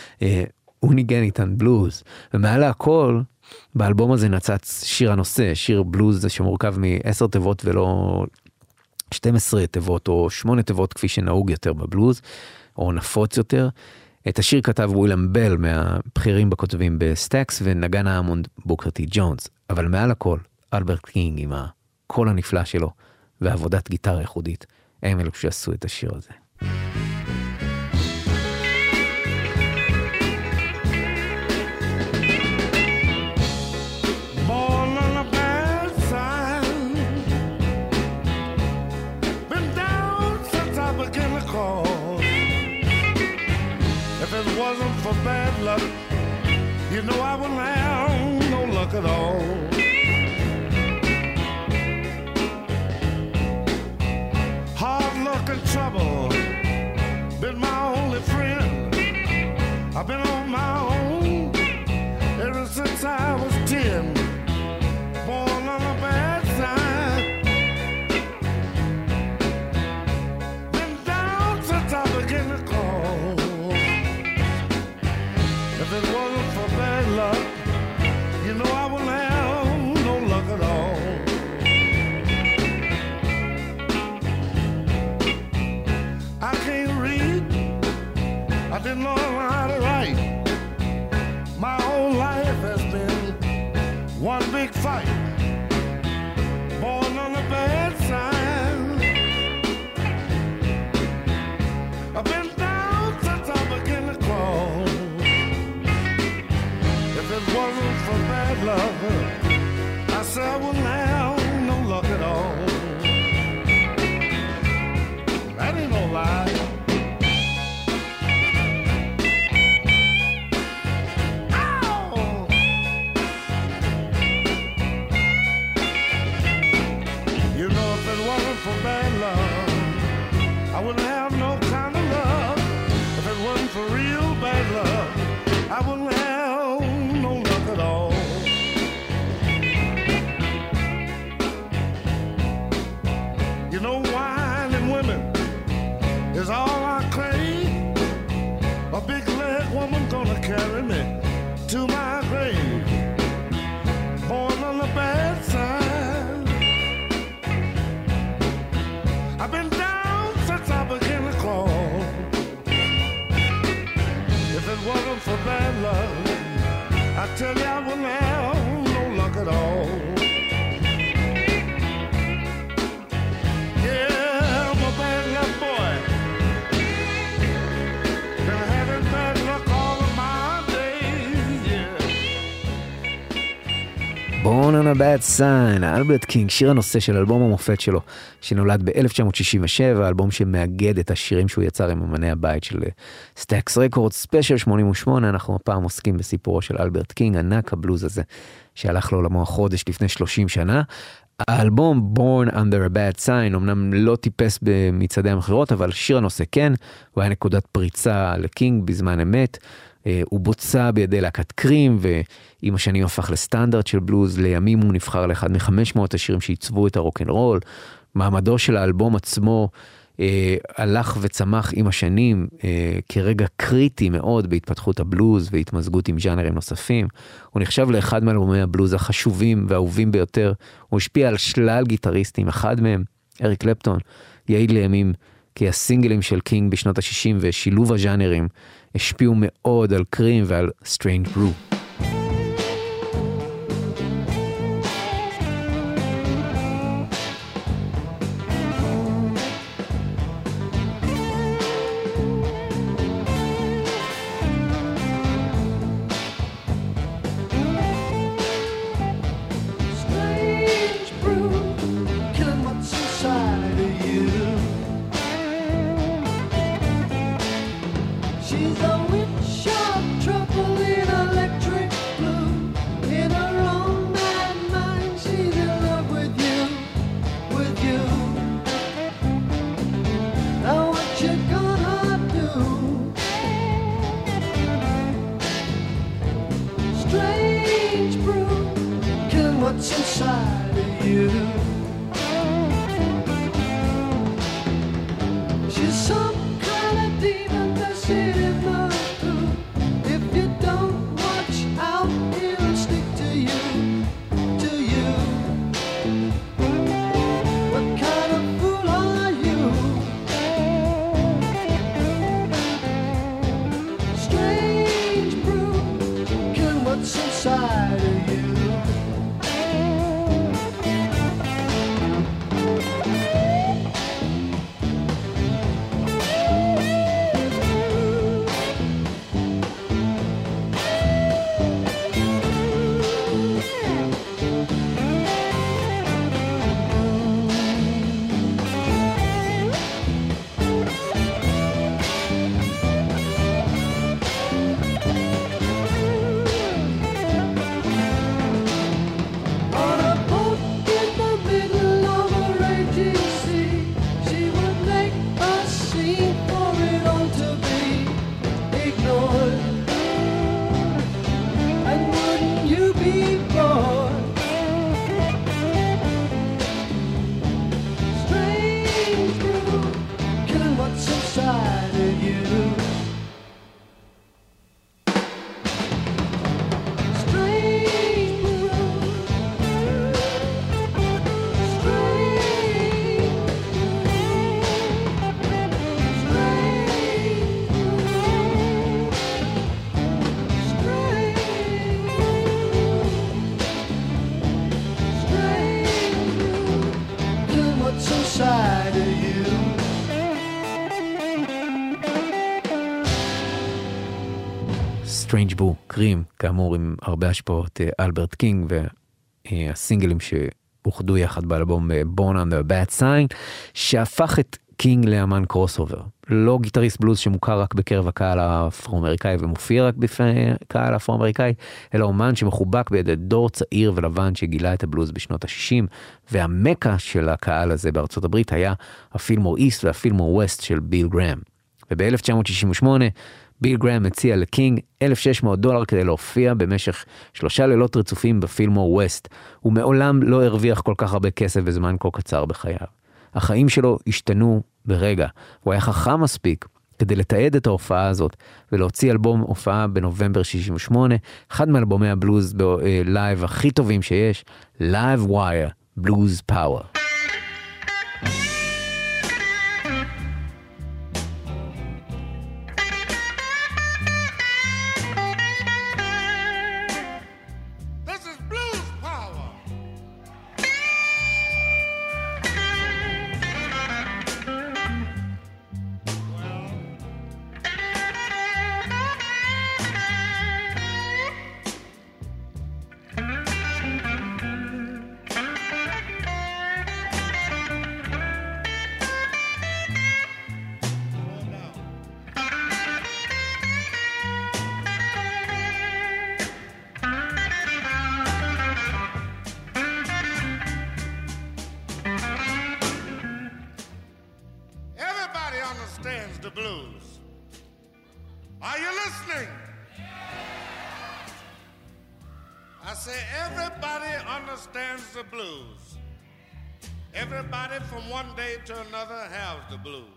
הוא ניגן איתן בלוז, ומעלה הכל, באלבום הזה נצץ שיר הנושא, שיר בלוז שמורכב מ-עשר תיבות ולא שתים עשרה תיבות או שמונה תיבות כפי שנהוג יותר בבלוז, או נפוץ יותר. את השיר כתב ווילם בל מהבחירים בכותבים בסטאקס, ונגן האמונד בוקר טי ג'ונס, אבל מעל הכל, אלברט קינג עם הקול הנפלא שלו, ועבודת גיטרה ייחודית, הם אלו שעשו את השיר הזה. Bad luck, you know I wouldn't have no luck at all. Hard luck and trouble been my only friend. I've been on my own ever since I was ten. it wasn't for bad luck, you know I wouldn't have no luck at all. I can't read, I didn't know how to write. My whole life has been one big fight. Born on the bad side, I've been down since I began to crawl. If it wasn't for bad luck, I said I wouldn't have no luck at all. That ain't no lie. For bad love, I wouldn't have no kind of love. If it wasn't for real bad love, I wouldn't have no luck at all. You know, wine and women is all I crave. A big leg woman gonna carry me to my grave. Born on the bad side, I've been down since I began to crawl. If it wasn't for bad luck, I tell you I wouldn't have no luck at all. Yeah, I'm a bad luck boy. Been having bad luck all of my days, yeah. Born on a Bad Sign, אלברט קינג, שיר הנושא של אלבום המופת שלו, שנולד ב-אלף תשע מאות שישים ושבע, אלבום שמאגד את השירים שהוא יצר עם אמני הבית של סטאקס רקורדס, ספיישל שמונים ושמונה. אנחנו הפעם עוסקים בסיפורו של אלברט קינג, ענק הבלוז הזה, שהלך לעולמו החודש לפני שלושים שנה. האלבום Born Under a Bad Sign אמנם לא טיפס במצעדי המכירות, אבל שיר הנושא כן, הוא היה נקודת פריצה לקינג בזמן אמת. הוא בוצע בידי להקת קרים, ועם השנים הפך לסטנדרט של בלוז. לימים הוא נבחר לאחד מ-חמש מאות השירים שעיצבו את הרוק'נ'רול. מעמדו של האלבום עצמו אה, הלך וצמח עם השנים אה, כרגע קריטי מאוד בהתפתחות הבלוז והתמזגות עם ז'אנרים נוספים. הוא נחשב לאחד מאלבומי הבלוז החשובים והאהובים ביותר. הוא השפיע על שלל גיטריסטים, אחד מהם, אריק קלפטון, יעיד לימים כי הסינגלים של קינג בשנות ה-שישים ושילוב הז'אנרים השפיעו מאוד על קרים ועל Strange Brew. Strange Brew, קרים, כאמור עם הרבה השפעות אלברט קינג, והסינגלים שאוחדו יחד באלבום Born Under a Bad Sign, שהפך את קינג לאמן קרוס-אובר. לא גיטריסט בלוז שמוכר רק בקרב הקהל האפרו-אמריקאי ומופיע רק בפני הקהל האפרו-אמריקאי, אלא אומן שמחובק בידי דור צעיר ולבן שגילה את הבלוז בשנות ה-שישים, והמקה של הקהל הזה בארצות הברית היה הפילמור איסט והפילמור ווסט של ביל גרם. וב-אלף תשע מאות שישים ושמונה ביל גרם הציע לקינג אלף ושש מאות דולר כדי להופיע במשך שלושה לילות רצופים בפילמור ווסט. הוא מעולם לא הרוויח כל כך הרבה כסף בזמן כה קצר בחייו. החיים שלו השתנו ברגע. הוא היה חכם מספיק כדי לתעד את ההופעה הזאת ולהוציא אלבום הופעה בנובמבר שישים ושמונה, אחד מאלבומי הבלוז בלייב הכי טובים שיש, Live Wire, Blues Power. To another has the blues.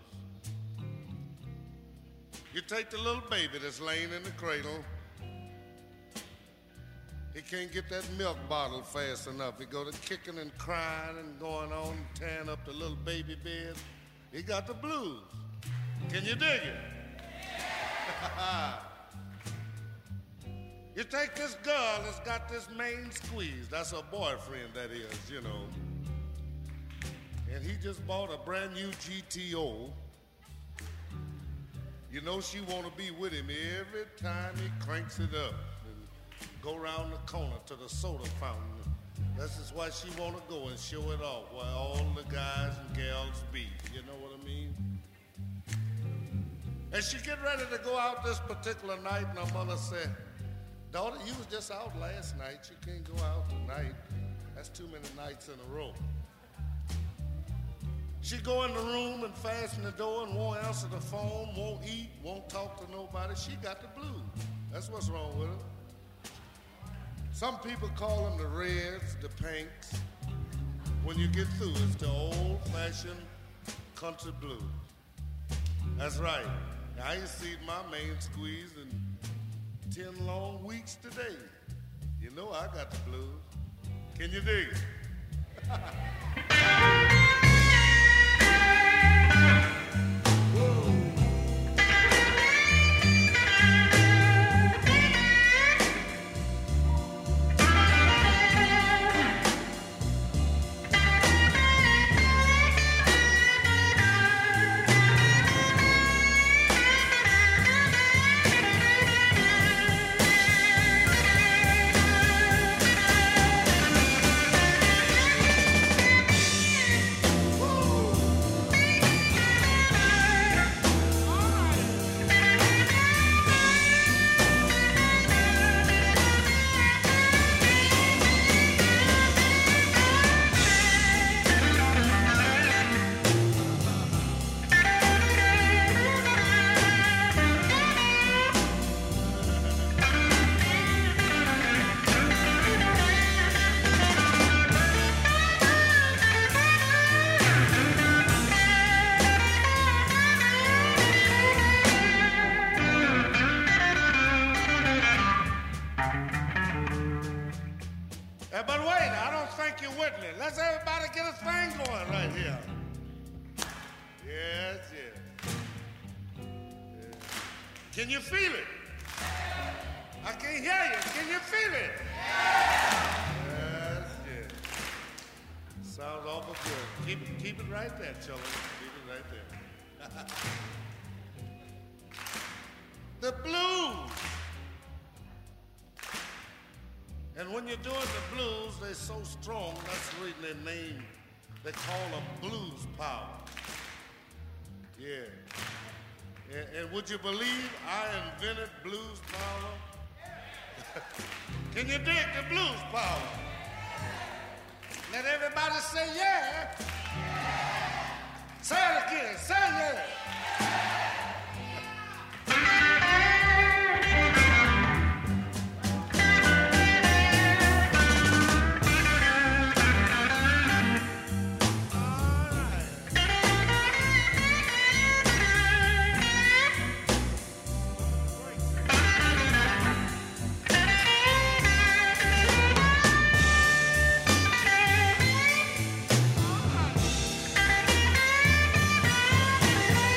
You take the little baby that's laying in the cradle. He can't get that milk bottle fast enough. He go to kicking and crying and going on, tearing up the little baby bed. He got the blues. Can you dig it? You take this girl that's got this main squeeze. That's her boyfriend, that is, you know. And he just bought a brand new G T O. You know she want to be with him every time he cranks it up and go around the corner to the soda fountain. This is why she want to go and show it off where all the guys and gals be. You know what I mean? And she get ready to go out this particular night, and her mother said, "Daughter, you was just out last night. You can't go out tonight. That's too many nights in a row." She go in the room and fasten the door and won't answer the phone, won't eat, won't talk to nobody. She got the blues. That's what's wrong with her. Some people call them the reds, the pinks. When you get through, it's the old-fashioned country blues. That's right. I ain't seen my main squeeze in ten long weeks today. You know I got the blues. Can you dig it? Can you feel it? I can't hear you. Can you feel it? Yes, yes. Sounds awful good. Keep it, keep it right there, children. Keep it right there. The blues. And when you're doing the blues, they're so strong, that's the reason they name, they call them blues power. Yeah. And, and would you believe I invented blues power? Can you dig the blues power? Let everybody say yeah. Say it again, say yeah. Thank you.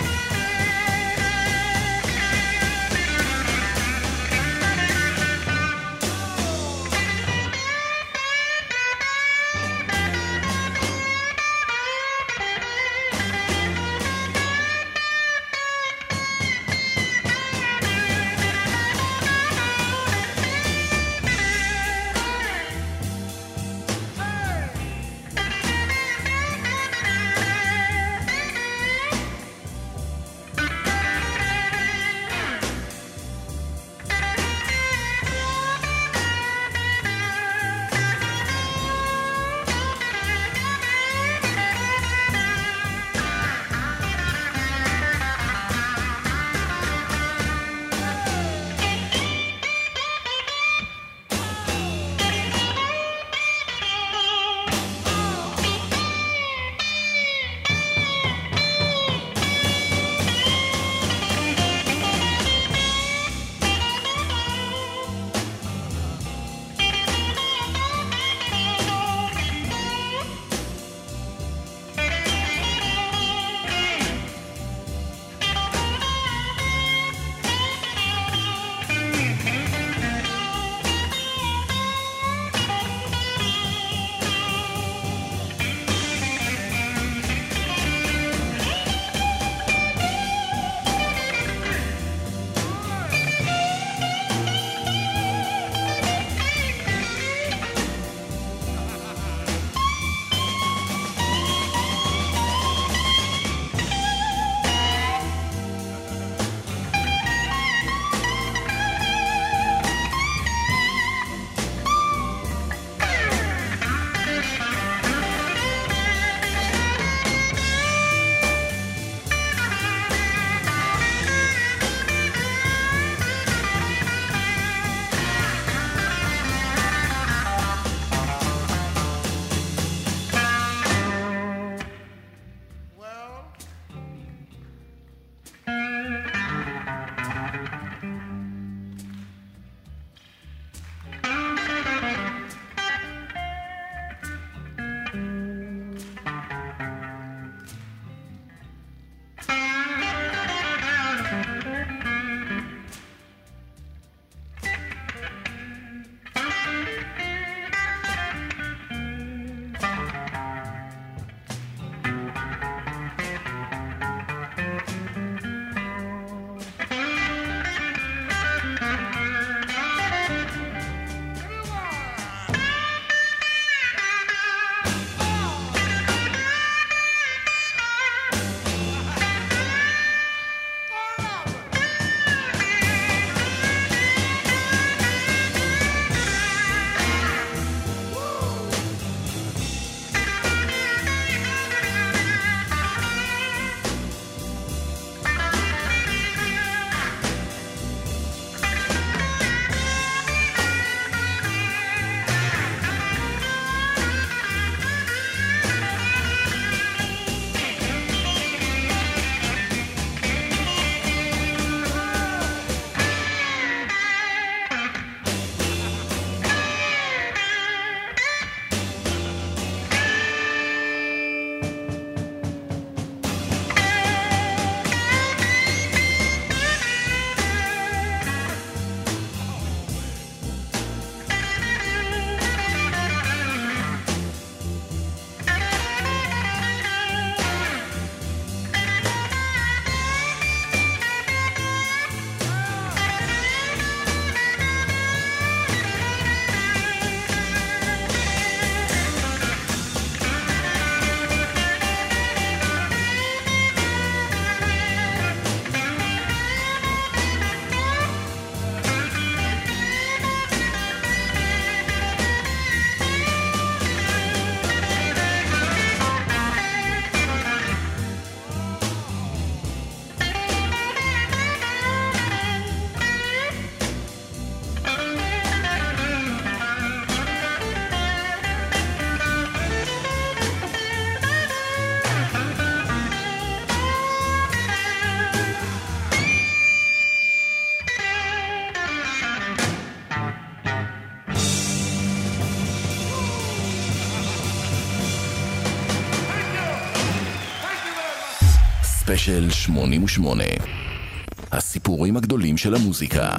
ספיישל שמונים ושמונה. הסיפורים הגדולים של המוזיקה.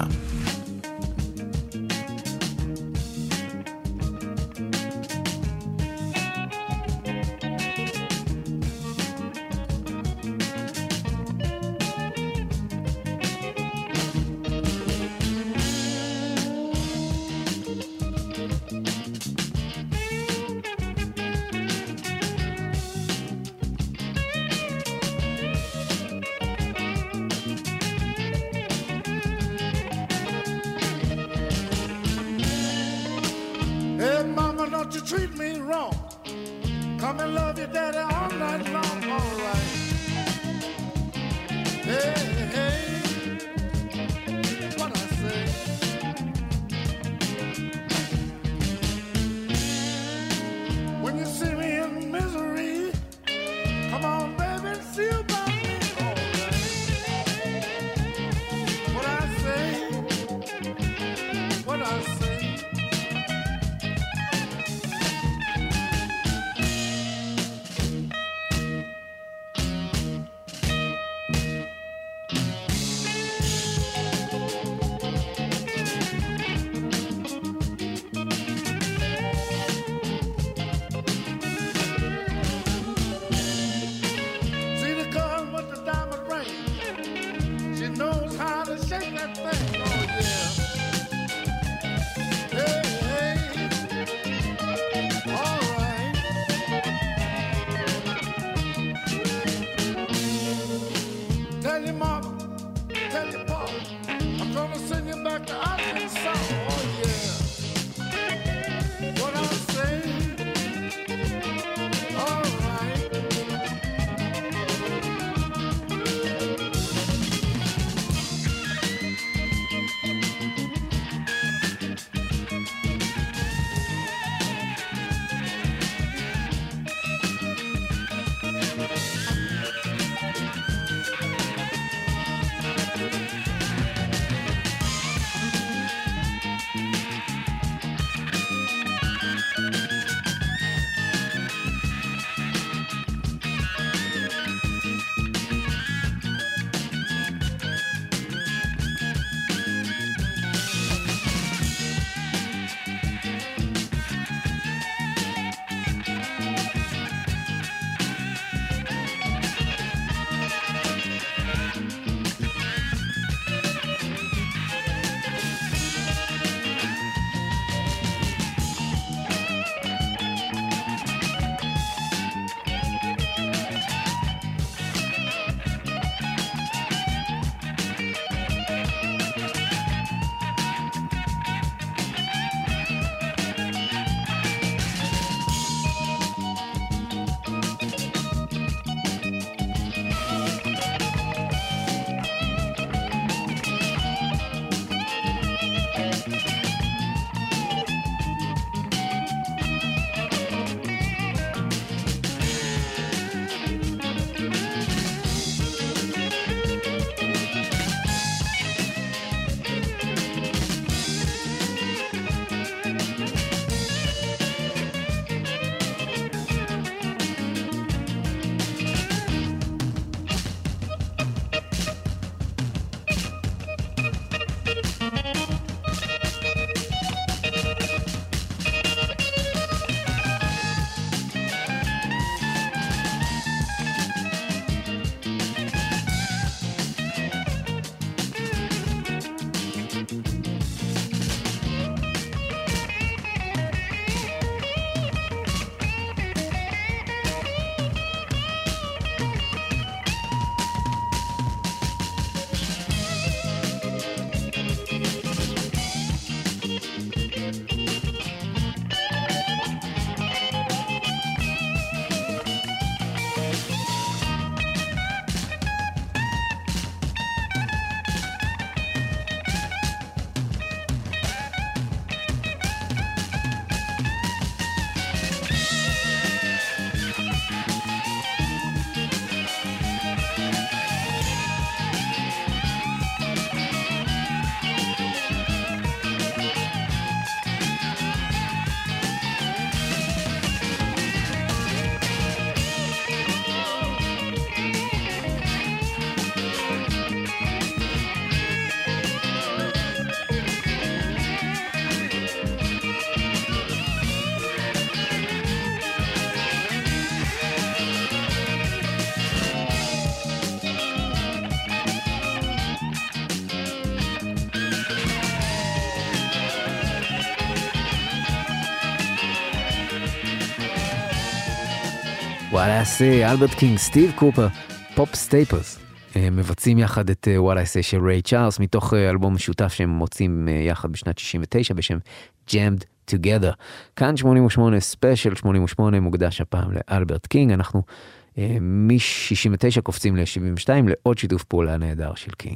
וואלה עשה, אלברט קינג, סטיב קופר, פופ סטייפלס. מבצעים יחד את וואלה עשה של ריי צ'ארלס, מתוך אלבום משותף שהם מוצאים יחד בשנת שישים ותשע בשם Jammed Together. כאן שמונים ושמונה, ספיישל שמונים ושמונה, מוקדש הפעם לאלברט קינג. אנחנו מ-שישים ותשע קופצים ל-שבעים ושתיים לעוד שיתוף פעולה נהדר של קינג.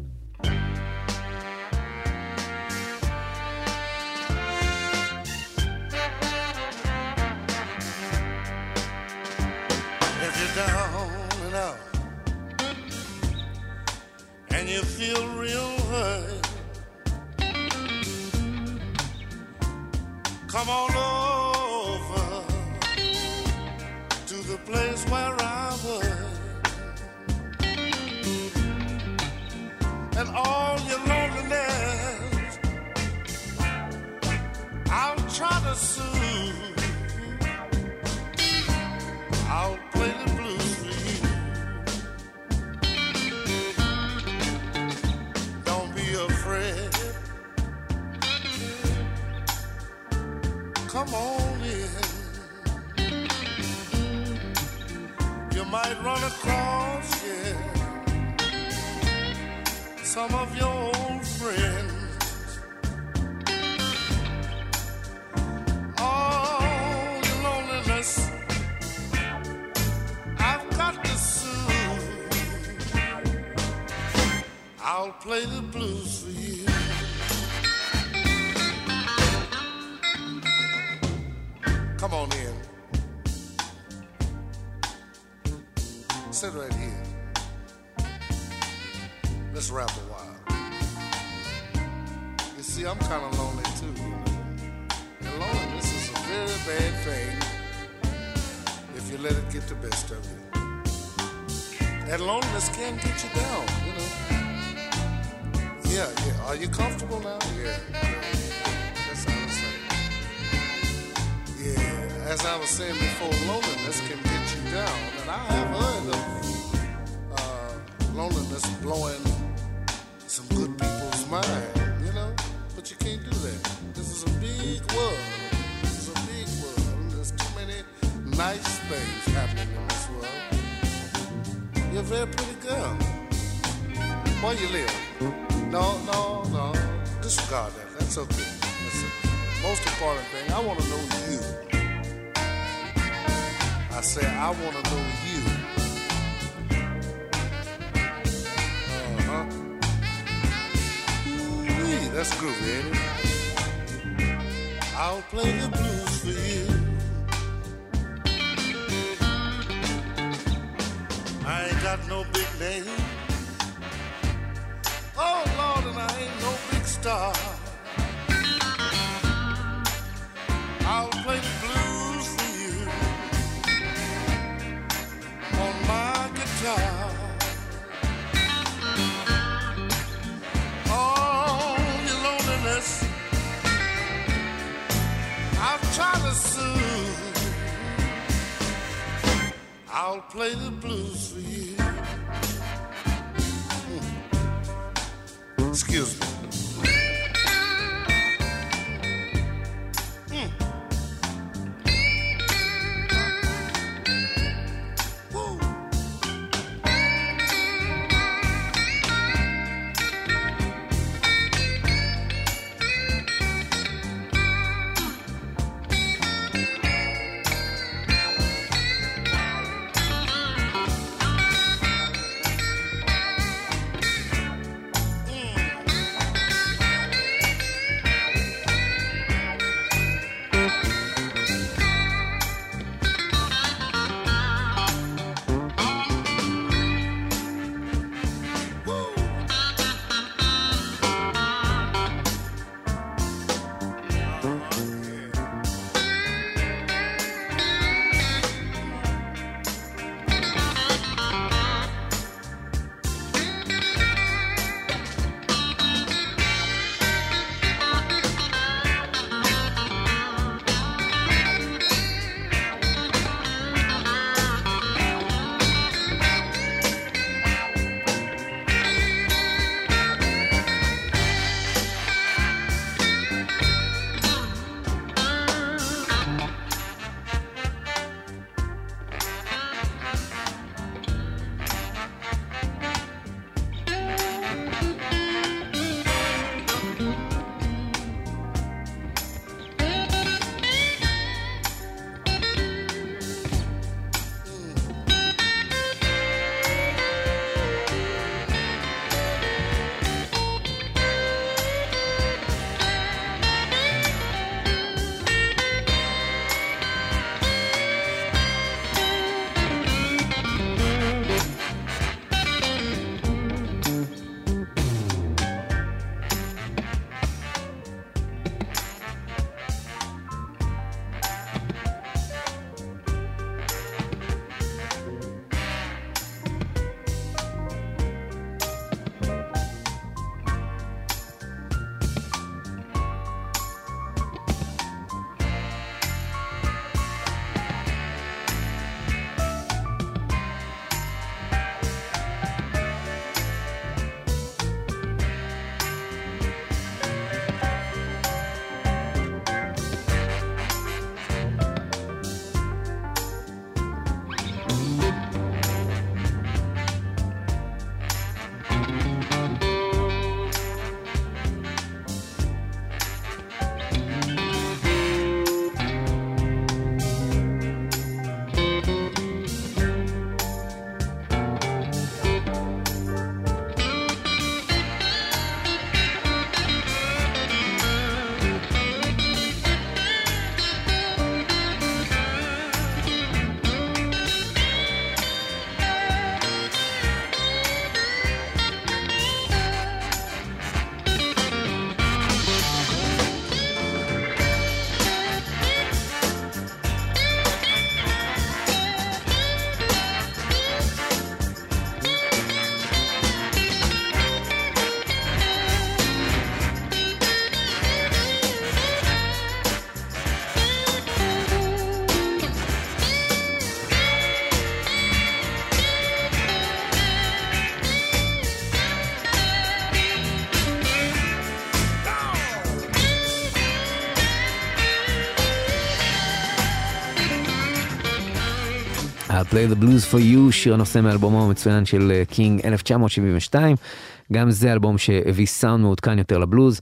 And you feel real hurt, come on over to the place where I was, and all your loneliness I'll try to soothe. I'll play the blues for you. Come on in. You might run across, yeah, some of your old friends. All your loneliness I've got to soothe. I'll play the blues for you. Come on in. Sit right here. Let's rap a while. You see, I'm kind of lonely too, you know. And loneliness is a very bad thing if you let it get the best of you. And loneliness can get you down, you know. Yeah, yeah. Are you comfortable now? Yeah. That's how it's saying. Yeah, as I was saying before, loneliness can get you down, and I have heard of uh, loneliness blowing some good people's mind, you know, but you can't do that. This is a big world. This is a big world. There's too many nice things happening in this world. You're a very pretty girl. Where you live? No, no, no. Disregard that. That's okay. That's okay. Most important thing, I want to know you. I say, I want to know you. Uh-huh. Ooh-wee, that's groovy, ain't it? I'll play the blues for you. I ain't got no big name. Oh, Lord, and I ain't no big star. I'll play the blues for you on my guitar. Oh, your loneliness I've tried to soothe. I'll play the blues for you. Hmm. Excuse me. Play the Blues for You, שיר הנושא מאלבומו המצוין של קינג אלף תשע מאות שבעים ושתיים. גם זה אלבום שהביא סאונד מעודכן יותר לבלוז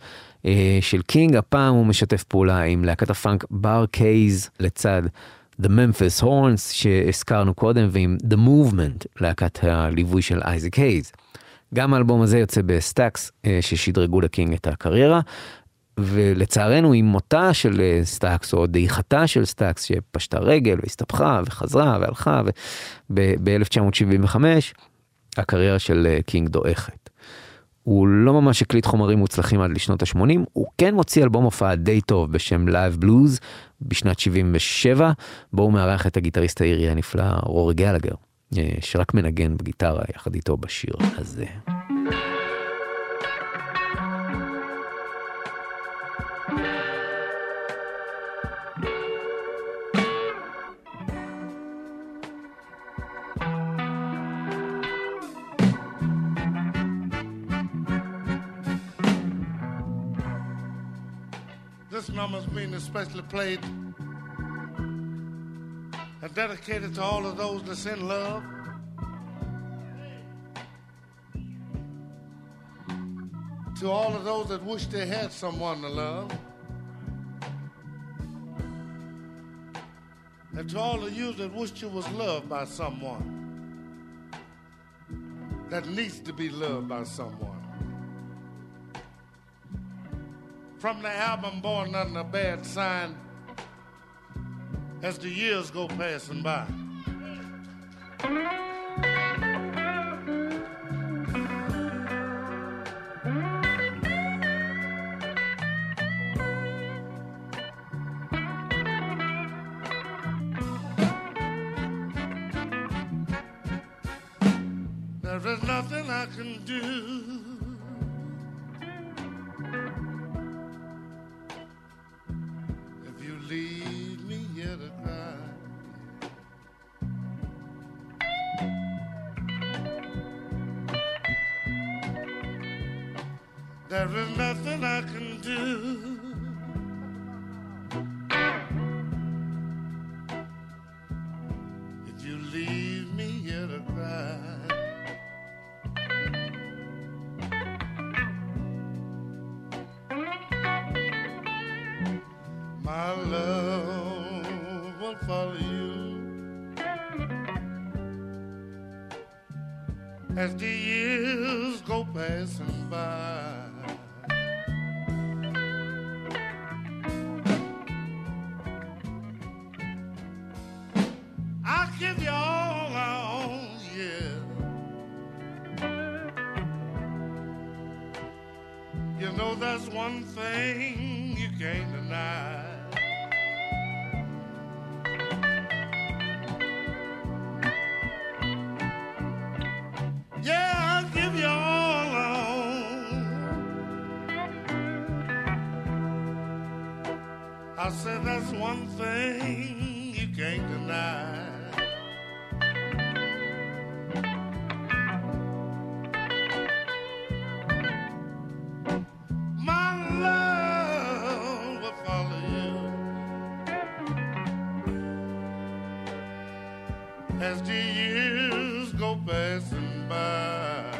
של קינג. הפעם הוא משתף פעולה עם להקת הפאנק בר קייז לצד The Memphis Horns שהזכרנו קודם, ועם The Movement, להקת הליווי של אייזק הייז. גם האלבום הזה יוצא בסטאקס ששדרגו לקינג את הקריירה, ולצערנו עם מותה של סטאקס או דעיכתה של סטאקס שפשטה רגל והסתבכה וחזרה והלכה, ב-אלף תשע מאות שבעים וחמש הקריירה של קינג דועכת. הוא לא ממש הקליט חומרים מוצלחים עד לשנות ה-שמונים, הוא כן מוציא אלבום הופעה די טוב בשם Live Blues בשנת שבעים ושבע, בו הוא מארח את הגיטריסט האירי הנפלא רורי גלגר, שרק מנגן בגיטרה יחד איתו בשיר הזה. This number's being especially played and dedicated to all of those that's in love. To all of those that wish they had someone to love. And to all of you that wished you was loved by someone that needs to be loved by someone. From the album Born Under a Bad Sign, as the years go passing by. There is nothing I can do leave me here to cry. There is nothing I can do if you leave me here to cry. My love will follow you as the years go passing by. I'll give you all I own, yeah. You know that's one thing you can't I said that's one thing you can't deny. My love will follow you as the years go passing by.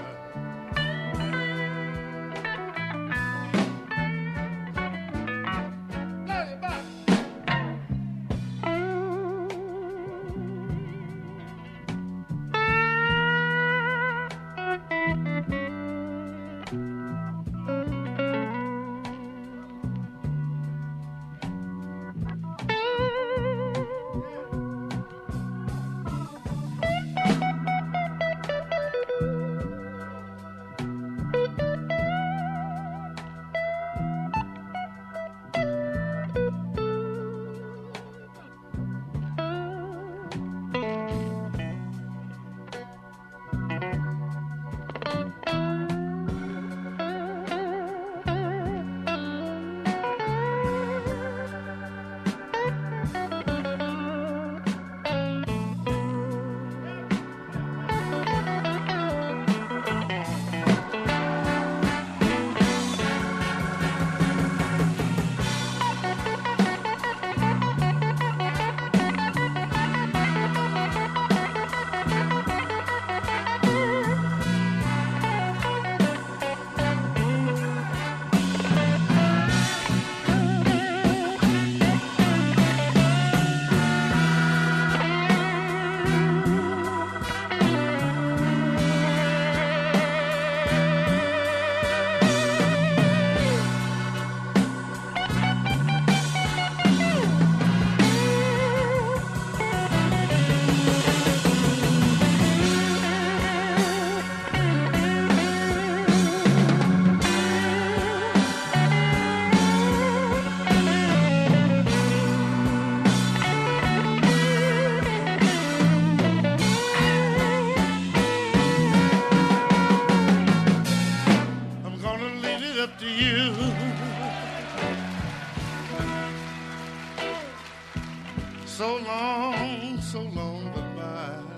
So long, so long goodbye.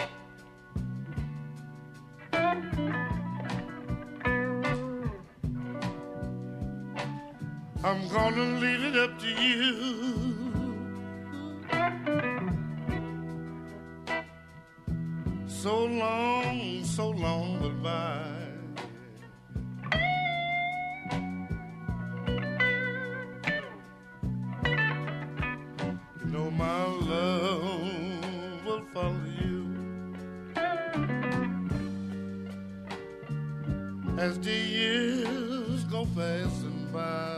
I'm gonna leave it up to you. So long, so long goodbye. know my love will follow you as the years go passing by.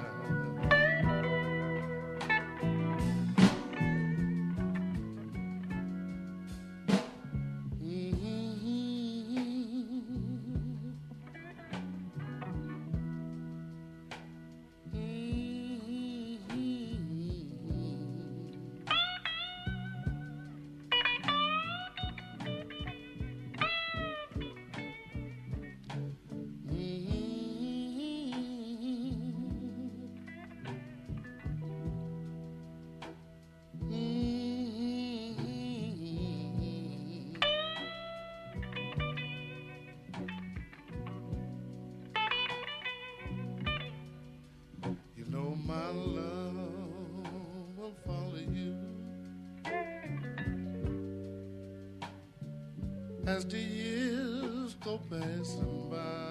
As the years go passing by.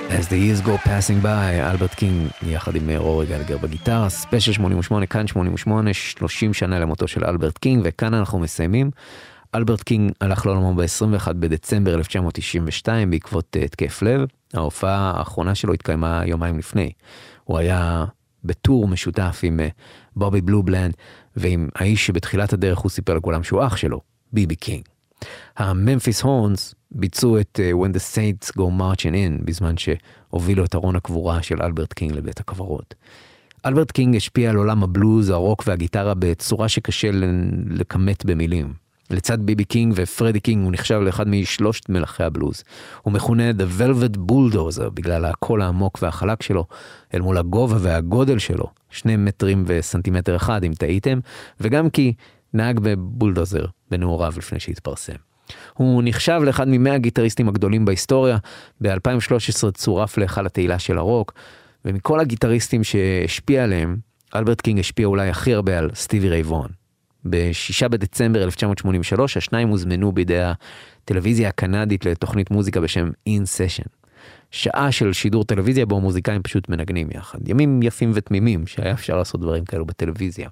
As the years go passing by, אלברט קינג יחד עם אורי גלגר בגיטרה, ספיישל שמונים ושמונה, כאן שמונים ושמונה, שלושים שנה למותו של אלברט קינג, וכאן אנחנו מסיימים. אלברט קינג הלך לעולמו ב-עשרים ואחד בדצמבר אלף תשע מאות תשעים ושתיים בעקבות התקף לב. ההופעה האחרונה שלו התקיימה יומיים לפני. הוא היה בטור משותף עם בובי בלובלנד, ועם האיש שבתחילת הדרך הוא סיפר לכולם שהוא אח שלו, ביבי קינג. הממפיס הורנס ביצעו את uh, When the Saints Go Marching In, בזמן שהובילו את ארון הקבורה של אלברט קינג לבית הקברות. אלברט קינג השפיע על עולם הבלוז, הרוק והגיטרה בצורה שקשה לכמת במילים. לצד ביבי קינג ופרדי קינג הוא נחשב לאחד משלושת מלכי הבלוז. הוא מכונה The Velvet Bulldozer בגלל הקול העמוק והחלק שלו, אל מול הגובה והגודל שלו, שני מטרים וסנטימטר אחד אם טעיתם, וגם כי נהג בבולדוזר בנעוריו לפני שהתפרסם. הוא נחשב לאחד ממאה הגיטריסטים הגדולים בהיסטוריה, ב-אלפיים ושלוש עשרה צורף להיכל התהילה של הרוק, ומכל הגיטריסטים שהשפיע עליהם, אלברט קינג השפיע אולי הכי הרבה על סטיבי ריי וון. בשישה בדצמבר אלף תשע מאות שמונים ושלוש, השניים הוזמנו בידי הטלוויזיה הקנדית לתוכנית מוזיקה בשם In Session. שעה של שידור טלוויזיה בו מוזיקאים פשוט מנגנים יחד. ימים יפים ותמימים שהיה אפשר לעשות דברים כאלו בטלוויזיה.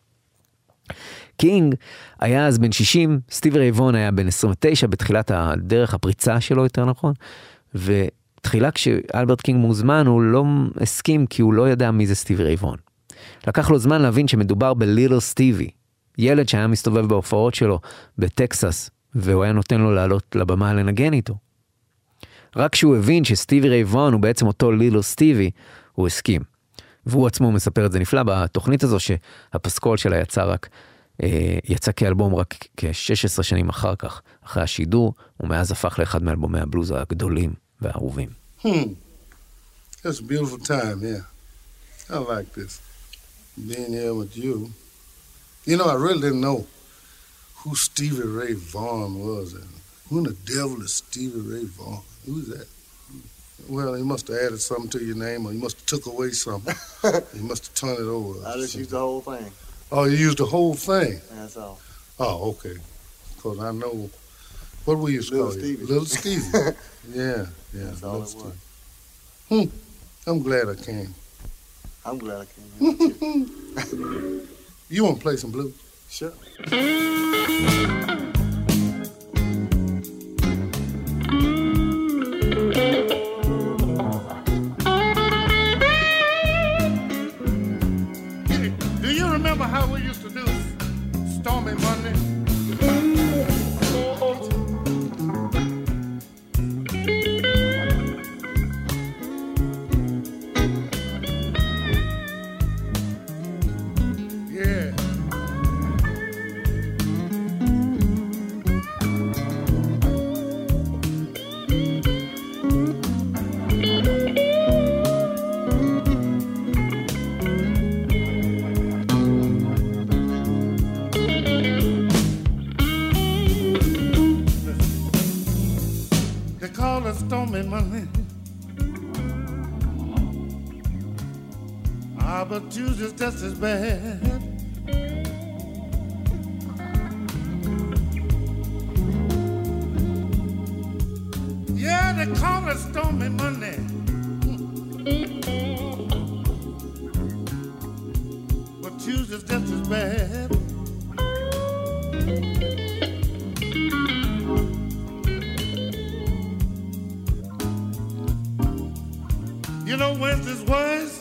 קינג היה אז בן שישים, סטיבי ריי וון היה בן עשרים ותשע בתחילת הדרך הפריצה שלו יותר נכון, ותחילה כשאלברט קינג מוזמן הוא לא הסכים כי הוא לא ידע מי זה סטיבי ריי וון. לקח לו זמן להבין שמדובר בליטל סטיבי, ילד שהיה מסתובב בהופעות שלו בטקסס, והוא היה נותן לו לעלות לבמה לנגן איתו. רק כשהוא הבין שסטיבי ריי וון הוא בעצם אותו ליטל סטיבי, הוא הסכים. והוא עצמו מספר את זה נפלא בתוכנית הזו שהפסקול שלה יצא רק, אה, יצא כאלבום רק כ-שש עשרה שנים אחר כך, אחרי השידור, ומאז הפך לאחד מאלבומי הבלוז הגדולים והאהובים. Hmm. That's a beautiful time, yeah. I like this. Being here with you. You know, I really didn't know who Stevie Ray Vaughan was. And who in the devil is Stevie Ray Vaughan? Who's that? Well, he must have added something to your name, or he must have took away something. He must have turned it over. I just used the whole thing. Oh, you used the whole thing? That's all. Oh, okay. Because I know, what we used to Little call Stevie. you? Little Stevie. Yeah, yeah. That's all it Stevie. was. Hmm. I'm glad I came. I'm glad I came. You want to play some blues? Sure. Do you remember how we used to do Stormy Monday? Stormy Monday. Ah, but Tuesday's just as bad. Yeah, they call it Stormy Monday. But Tuesday's just as bad. You know Wednesday's worse,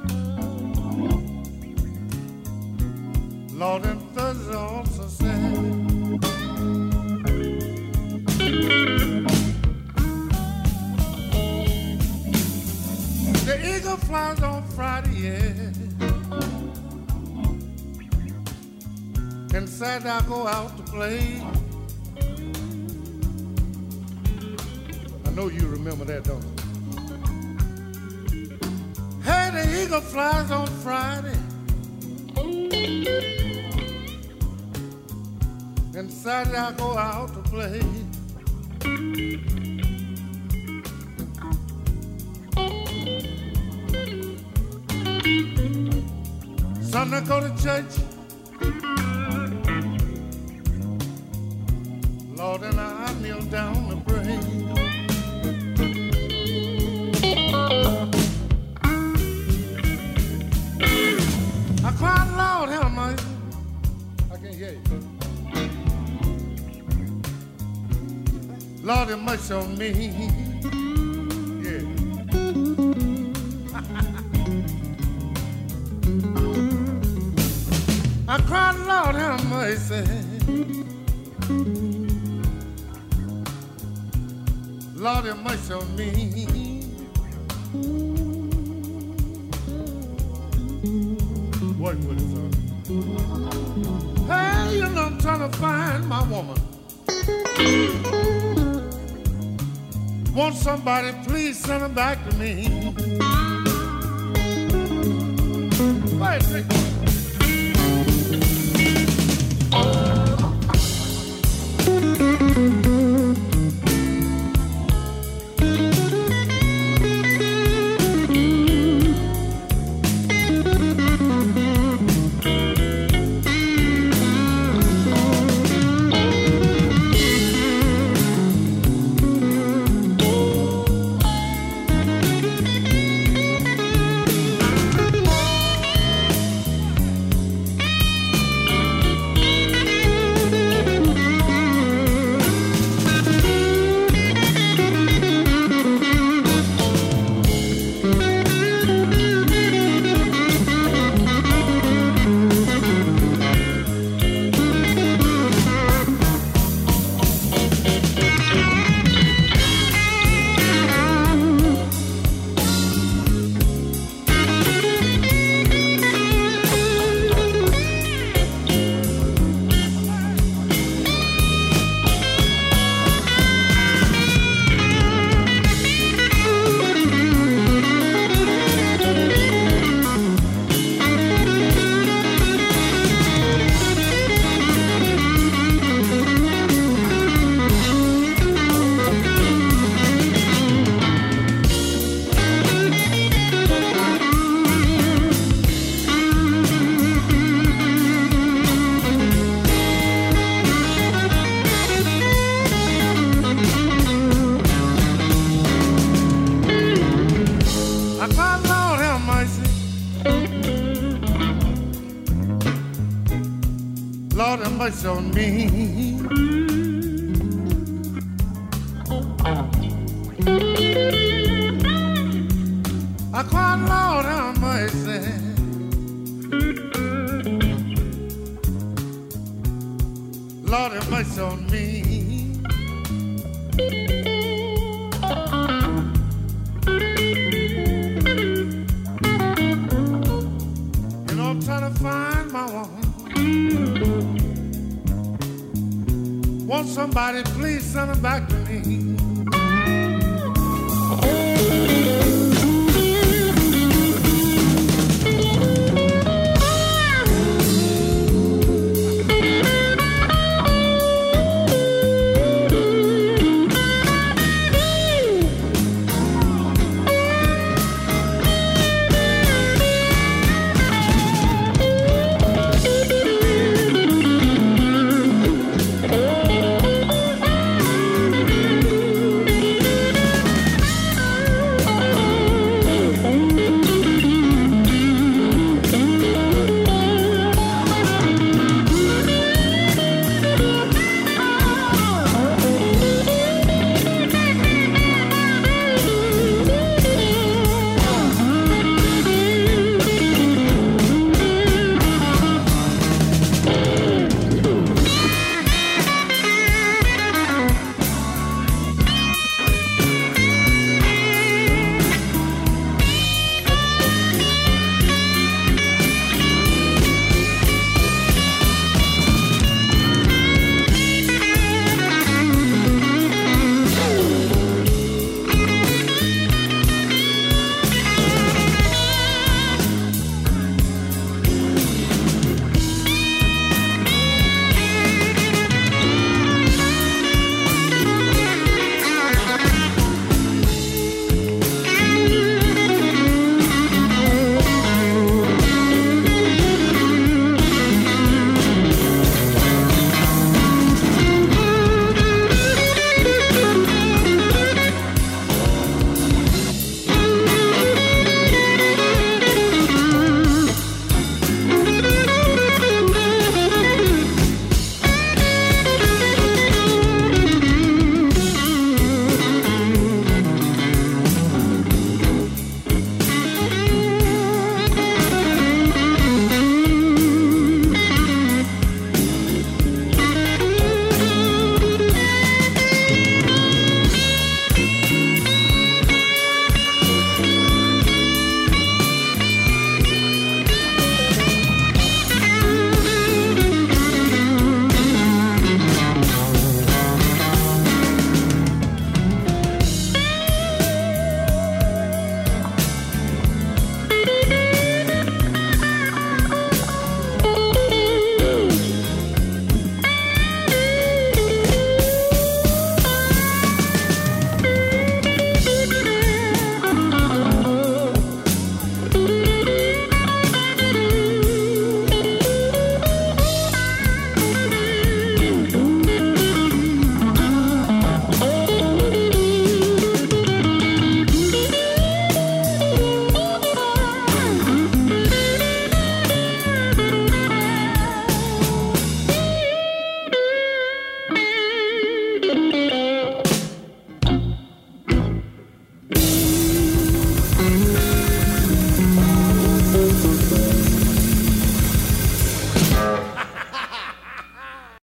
Lord, and Thursday also sad. The eagle flies on Friday, yeah, and Saturday I go out to play. I know you remember that, don't you? Hey, the eagle flies on Friday, and Saturday I go out to play. Sunday I go to church, Lord, and I kneel down to pray. Lord have mercy on me. Yeah. I cried, Lord have mercy. Lord have mercy on me. Work with it, son. Hey, you know I'm trying to find my woman. Want somebody, please send her back to me. Wait, take it. Mercy on me. I cried, Lord, have mercy. Lord, have mercy on me. You know, I'm trying to find my woman. Want somebody, please send her back to me.